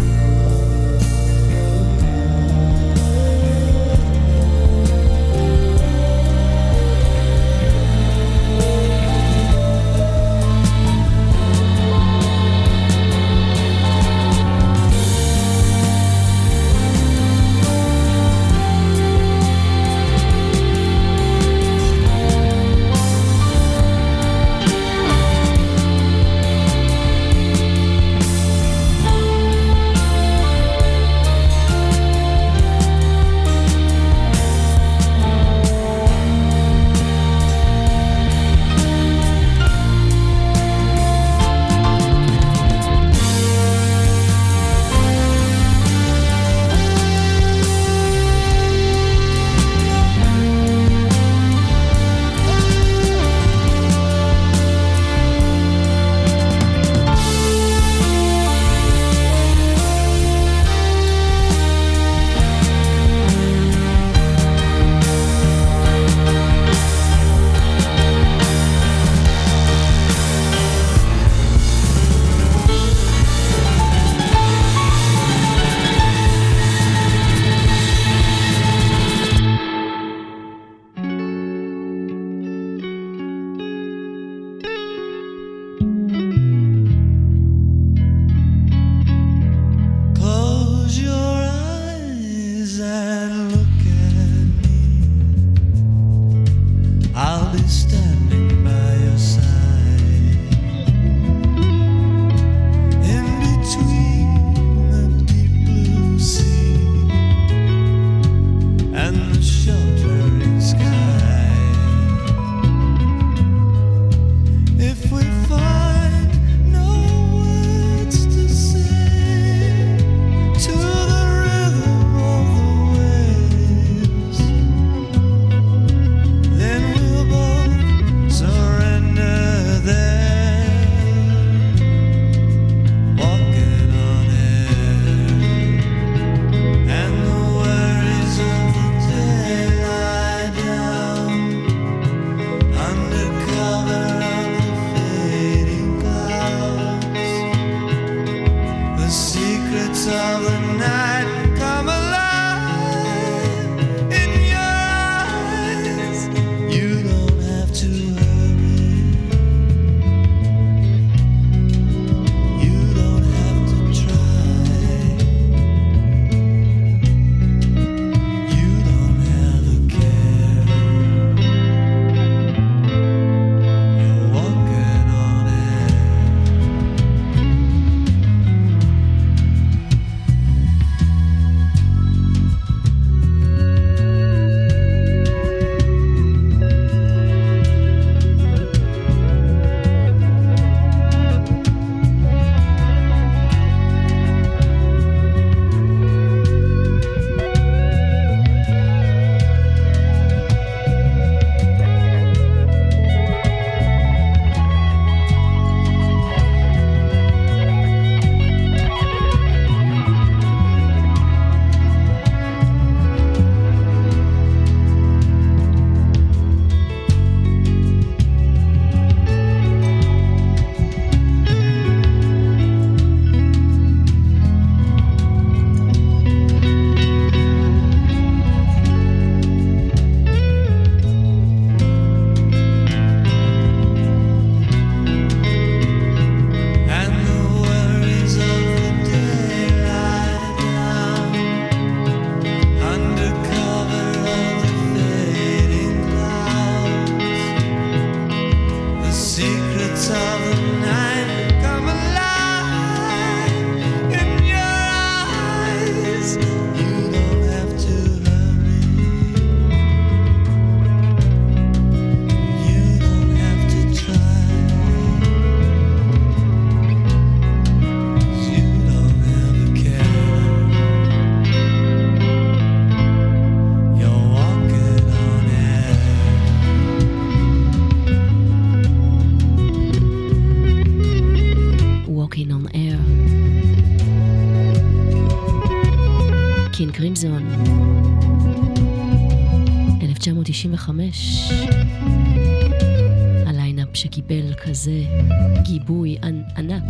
תשעים וחמש. הליינאפ שקיבל כזה גיבוי ענק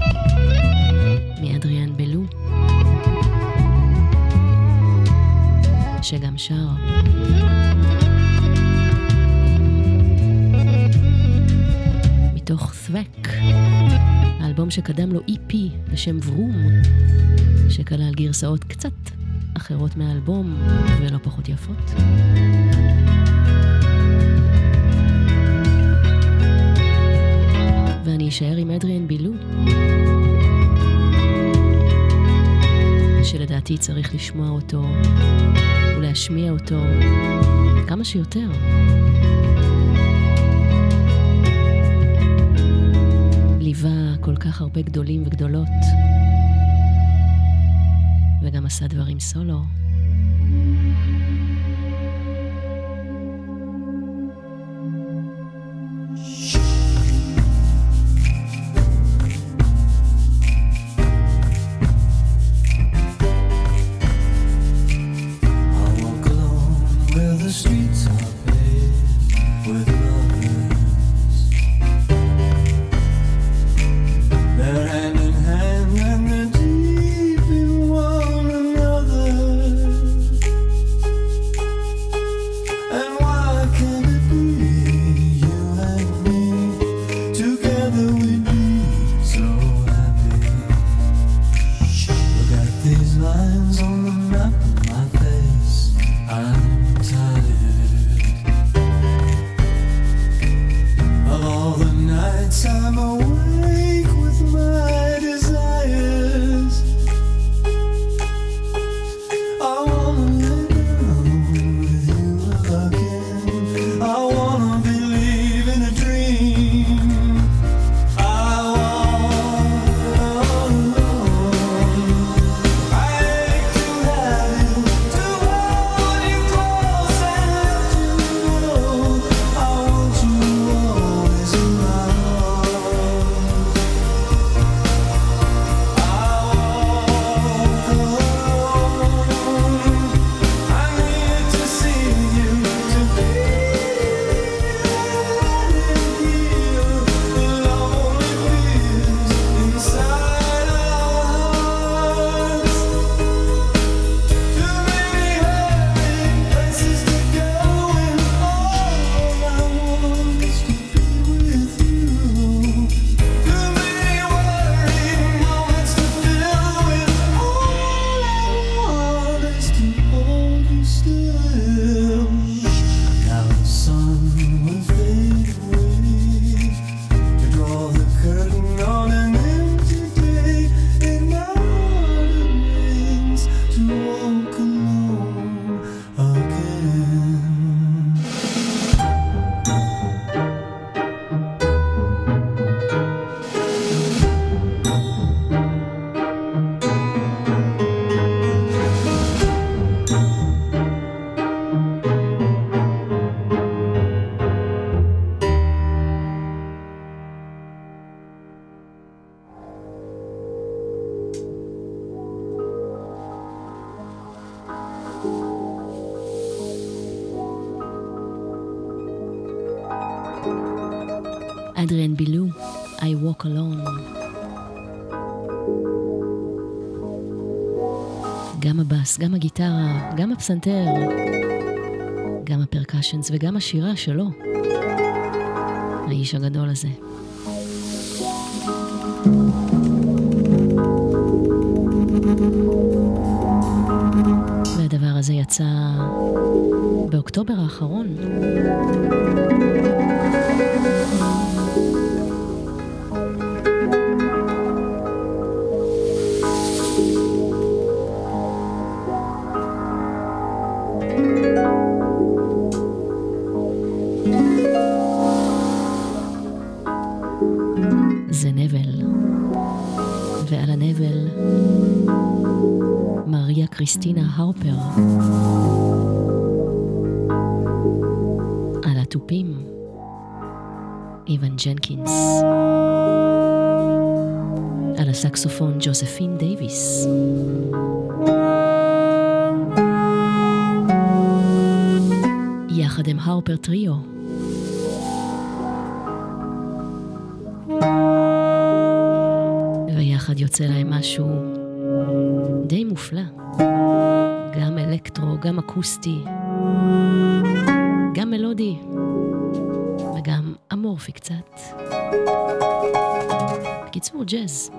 מאדריאן בלו, שגם שר מתוך ת'ווק, האלבום שקדם לו אי פי בשם ורום, שכלל גרסאות קצת אחרות מהאלבום ולא פחות יפות. ואני אשאר עם אדריאן בילו, שלדעתי צריך לשמוע אותו ולהשמיע אותו כמה שיותר. ליווה כל כך הרבה גדולים וגדולות, וגם עשה דברים סולו. אדריאן בילו, I Walk Alone. גם הבאס, גם הגיטרה, גם הפסנתר, גם הפרקשנס וגם השירה שלו, האיש הגדול הזה. והדבר הזה יצא באוקטובר האחרון. זה נבל, ועל הנבל מריה קריסטינה הרפר, על התופים איוון ג'נקינס, על הסקסופון ג'וזפין דייביס, יחד עם הרפר טריו. ויחד יוצא להם משהו די מופלא. גם אלקטרו, גם אקוסטי, גם מלודי, וגם אמורפי קצת. בקיצור, ג'אז.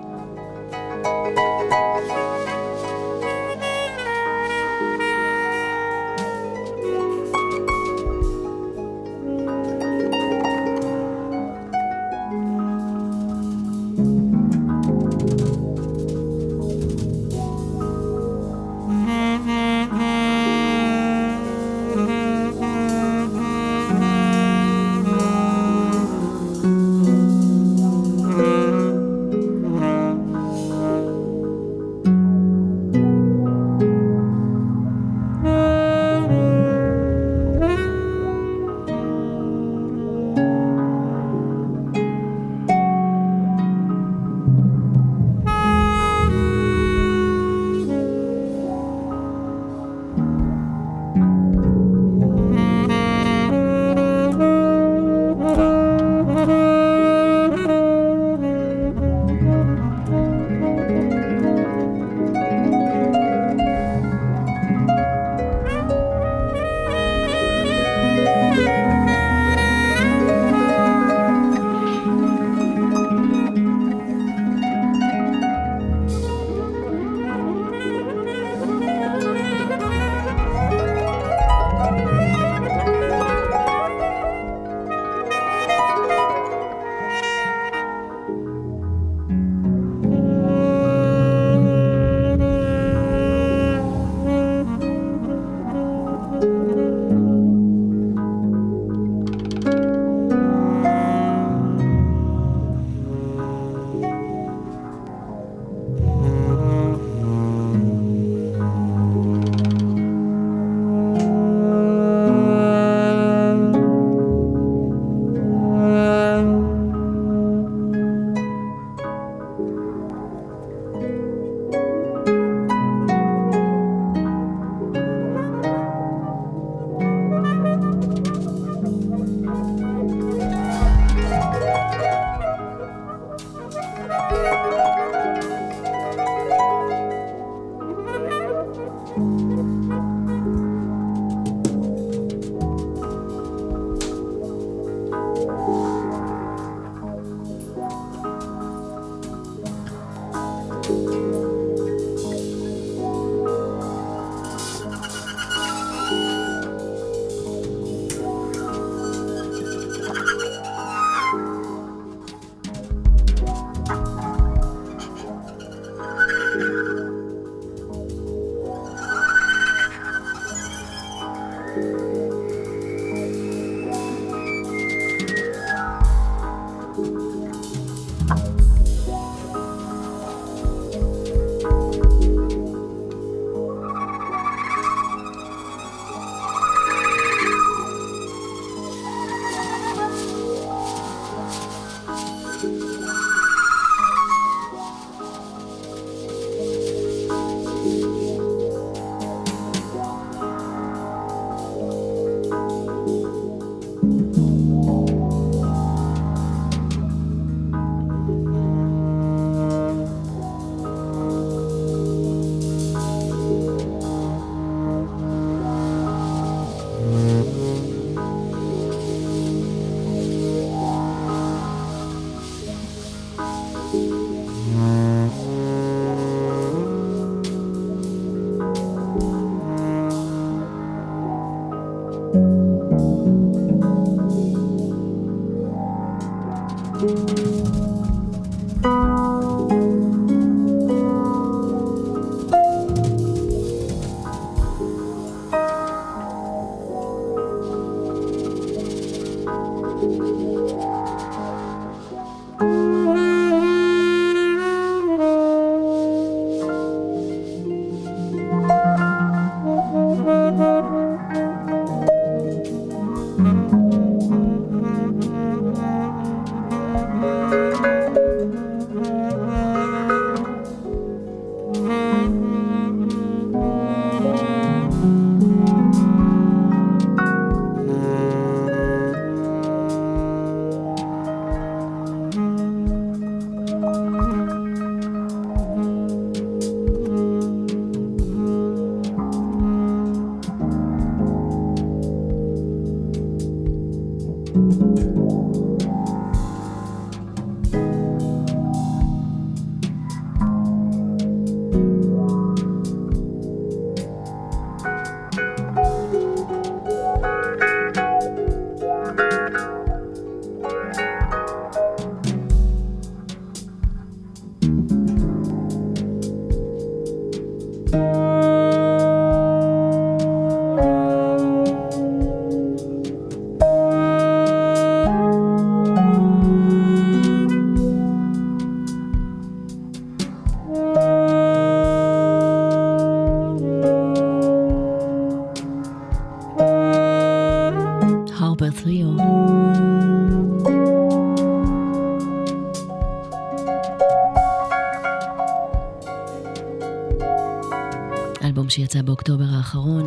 שיצא באוקטובר האחרון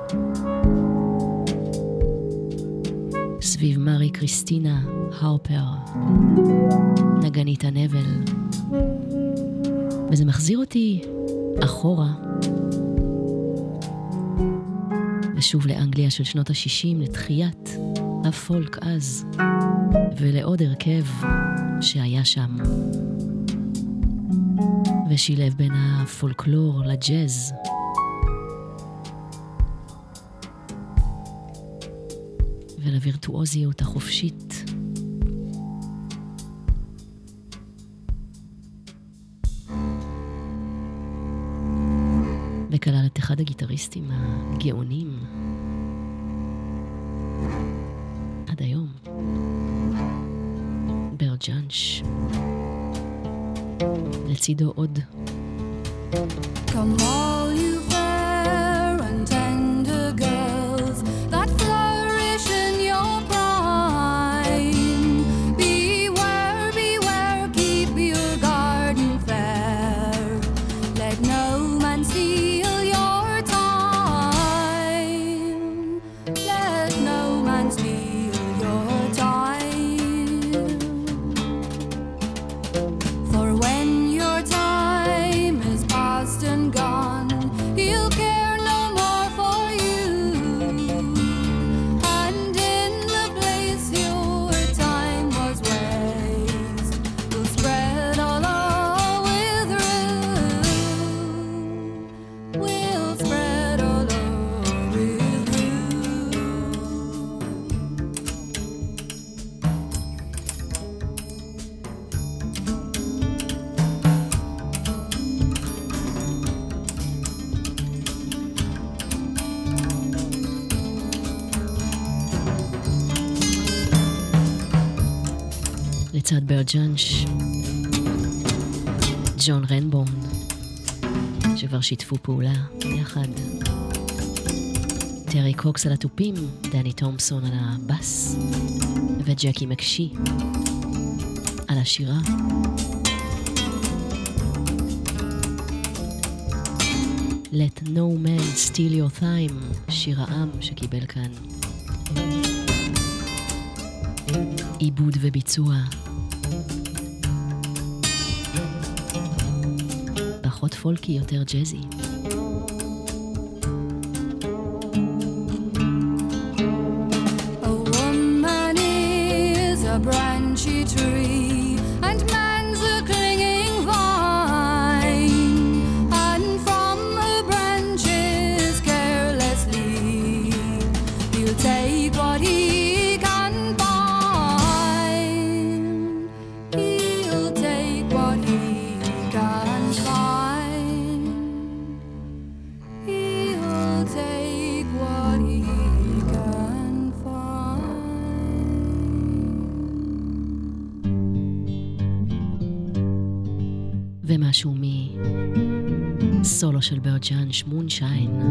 סביב מארי קריסטינה הרפר, נגנית הנבל, וזה מחזיר אותי אחורה ושוב לאנגליה של שנות ה-שישים, לתחיית הפולק אז ולעוד הרכב שהיה שם ושילב בין הפולקלור לג'אז ולווירטואוזיות החופשית. וכלל את אחד הגיטריסטים הגאונים עד היום, ברד ג'אנש. לצידו עוד. Come all you fair and tender girls that flourish in your prime, beware, beware, keep your garden fair, let no man steal your time, let no man steal your time, for when your time is past and gone, he'll care no more for you, and in the place your time was waste, will spread all over with rue, will spread all over with rue. לצד ברד ג'אנש, ג'ון רנבורן, שכבר שיתפו פעולה יחד, טרי קוקס על התופים, דני תומפסון על הבאס, וג'קי מקשי על השירה. Let no man steal your time, שיר העם שקיבל כאן עיבוד וביצוע פחות פולקי, יותר ג'זי. A woman is a branchy tree, and man's a clinging vine, and from the branches carelessly he'll take what he can find, he'll take what he can find, he'll take what he can find. ומשהו מסולו של ברד ג'אנש, מונשיין.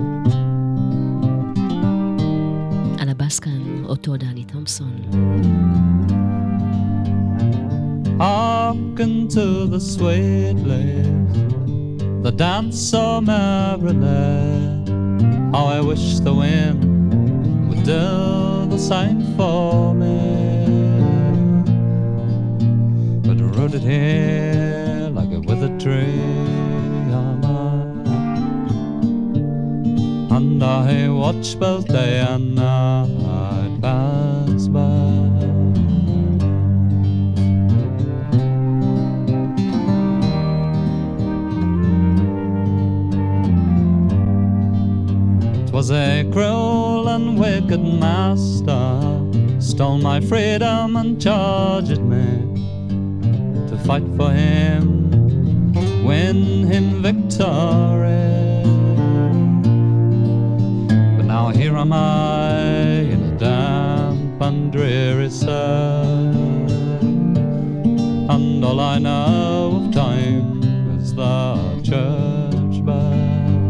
על הבאס כאן אותו דני תומפסון. Hearken to the sweet lays, the dance so merrily. How I wish the wind would do the same for me. But rooted here like a withered tree am I, and I watch both day and night pass by. cruel and wicked master stole my freedom and charged me to fight for him, win him victory. But now here am I in a damp and dreary cell, and all I know of time is the church bell.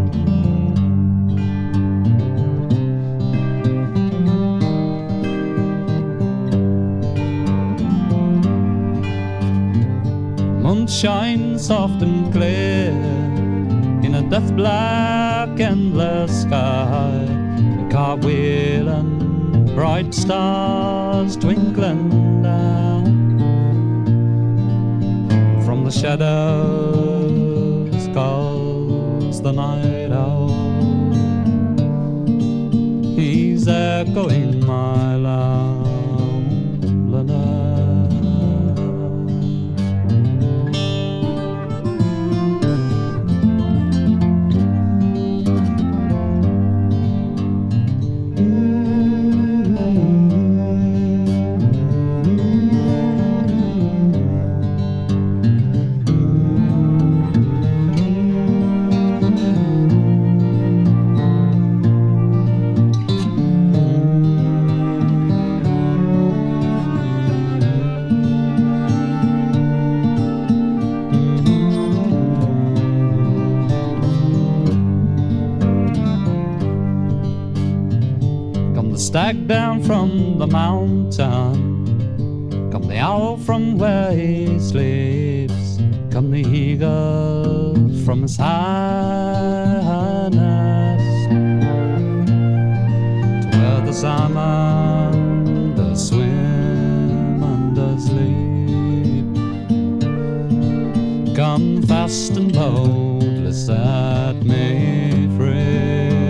Moonshine soft and clear in a death black endless sky, a cartwheel and bright stars twinkling down from the shadows calls the night owl. He's echoing my loneliness. Stag down from the mountain, come the owl from where he sleeps, come the eagle from his high nest, to where the salmon does swim and does sleep. Come fast and boldly, set me free.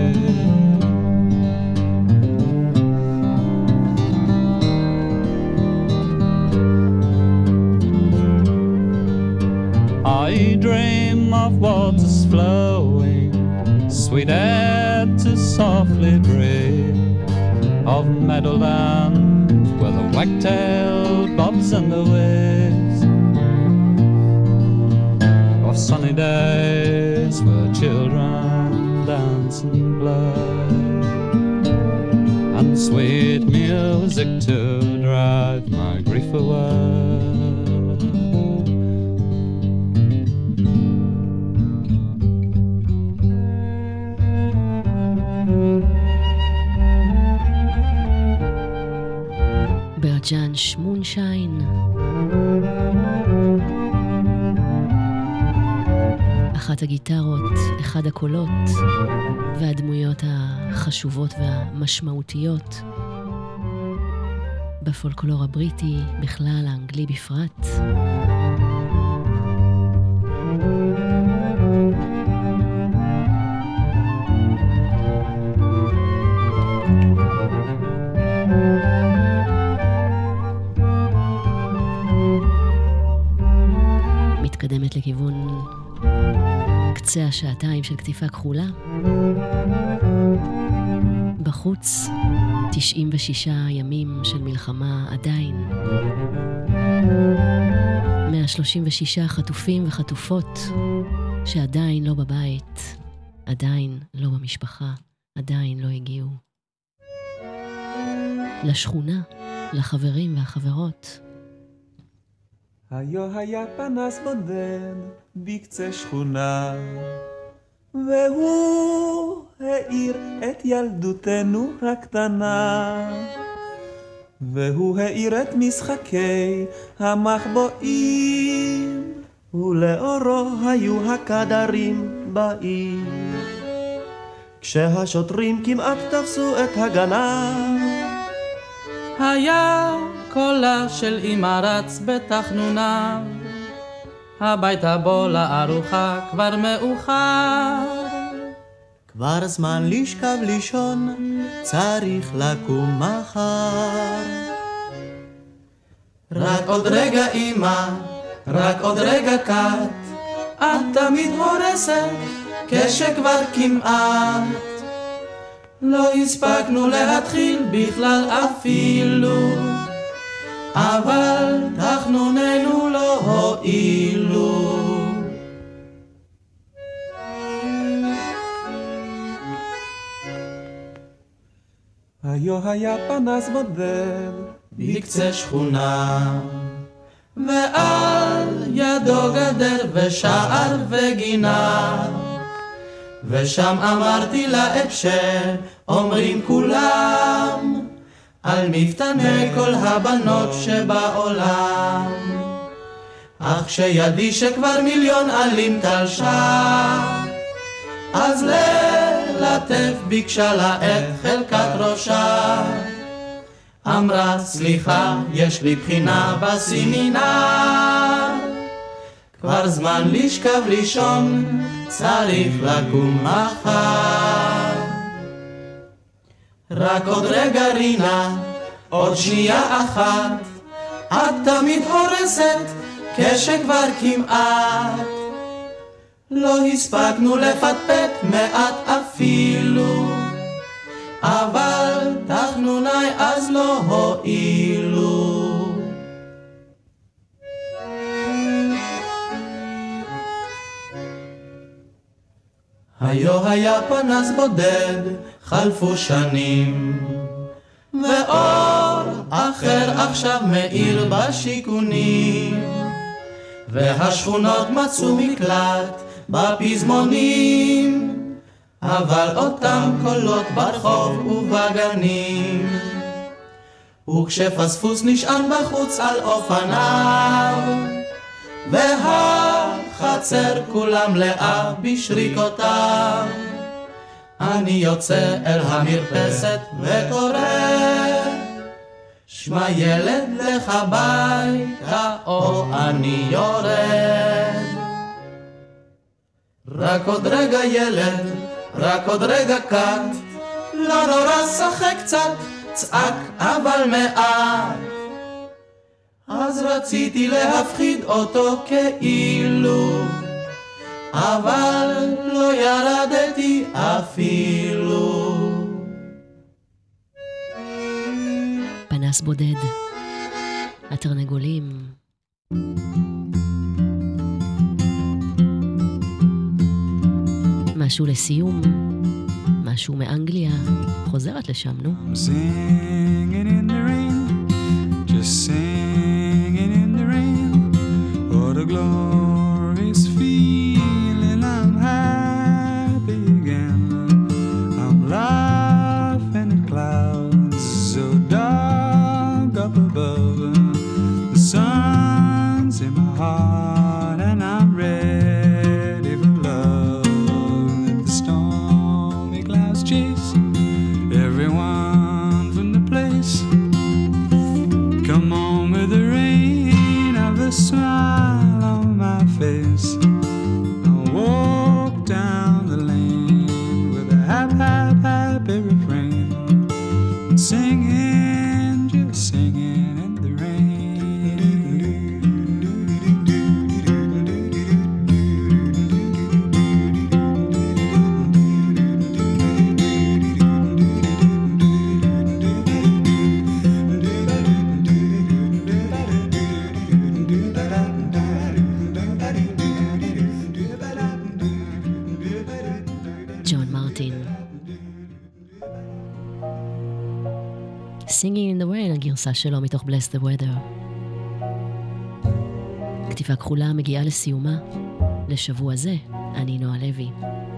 I dream of waters flowing, sweet air to softly breathe, of meadowland where the wagtail bobs in the waves, of sunny days where children dance and play, and sweet music to drive my grief away. ברג'אנש מונשיין, אחת הגיטרות, אחד הקולות והדמויות החשובות והמשמעותיות בפולקלור הבריטי, בכלל האנגלי בפרט. מתקדמת לכיוון קצה השעתיים של כתיפה כחולה. בחוץ תשעים ושישה ימים של מלחמה עדיין. מאה שלושים ושישה חטופים וחטופות שעדיין לא בבית, עדיין לא במשפחה, עדיין לא הגיעו לשכונה, לחברים והחברות. היו היה פנס בודד בקצה שכונה, והוא האיר את ילדותנו הקטנה, והוא האיר את משחקי המחבואים, ולאורו היו הקדרים בעיר. כשהשוטרים כמעט תפסו את הגנב, היה קולה של אמא רץ בתחנונה, הביתה בוא לארוחה כבר מאוחר. כבר זמן לשכב לישון, צריך לקום מחר. רק עוד רגע אמא, רק עוד רגע קט, את תמיד הורסת כשכבר כמעט. לא הספקנו להתחיל בכלל אפילו, אבל תחנוננו לא הועילו. היו היה פנס בודד בקצה שכונה, ועל ידו גדר ושער וגינה, ושם אמרתי לה את שאומרים כולם על מפתני כל הבנות שבעולם. אך כשידי שכבר מיליון עלים תלשה, אז ללטף ביקשה לה את חלקת ראשה. אמרה סליחה, יש לי בחינה בסמינר, כבר זמן לשכב לישון, צריך לקום מחר. רק עוד רגע רינה, עוד שנייה אחת, את תמיד הורסת כשכבר כמעט. לא הספקנו לפטפט מעט אפילו, אבל תחנוני אז לא הועילו. היו היה פנס בודד, חלפו שנים, ואור אחר עכשיו מאיר בשיכונים, והשכונות מצאו מקלט בפזמונים, אבל אותם קולות ברחוב ובגנים. וכשפספוס נשען בחוץ על אופניו, והחצר כולם לאה בשריקותיו, אני יוצא אל המרפסת וקורא, שמע ילד לך ביתה או אני יורד. רק עוד רגע ילד, רק עוד רגע קט, לא נורא שחק קצת, צעק אבל מעט. אז רציתי להפחיד אותו כאילו, אבל לא ירדתי אפילו. פנס בודד, התרנגולים. משהו לסיום, משהו מאנגליה, חוזרת לשם, נו. I'm singing in the rain, just singing in the rain, what a glorious feeling, I'm happy again, I'm laughing at clouds so dark up above, the sun's in my heart and I'm ready for love, let the stormy clouds chase everyone from the place, come on with the rain, have a smile on my face, I'll walk down the lane with a happy, happy, happy refrain, singing, just singing in the rain. Singing in the Rain, הגרסה שלו מתוך Bless the Weather. כתיבה כחולה מגיעה לסיומה לשבוע זה. אני נועה לוי.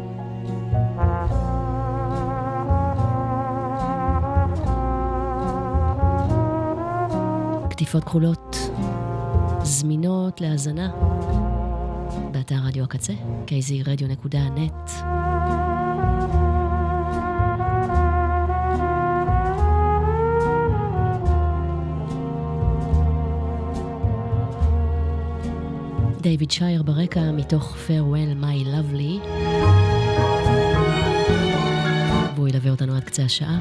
כתיבות כחולות זמינות להאזנה באתר רדיו הקצה, קי זי רדיו נקודה נט. דיוויד שייר ברקע מתוך Farewell My Lovely, והוא ילווה אותנו עד קצה השעה,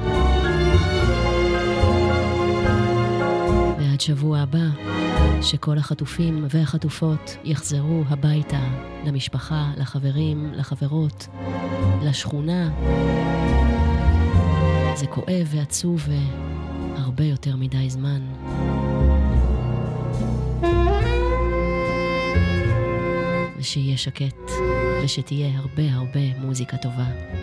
ועד שבוע הבא שכל החטופים והחטופות יחזרו הביתה, למשפחה, לחברים, לחברות, לשכונה, זה כואב ועצוב והרבה יותר מדי זמן. ושיהיה שקט, ושתהיה הרבה הרבה מוזיקה טובה.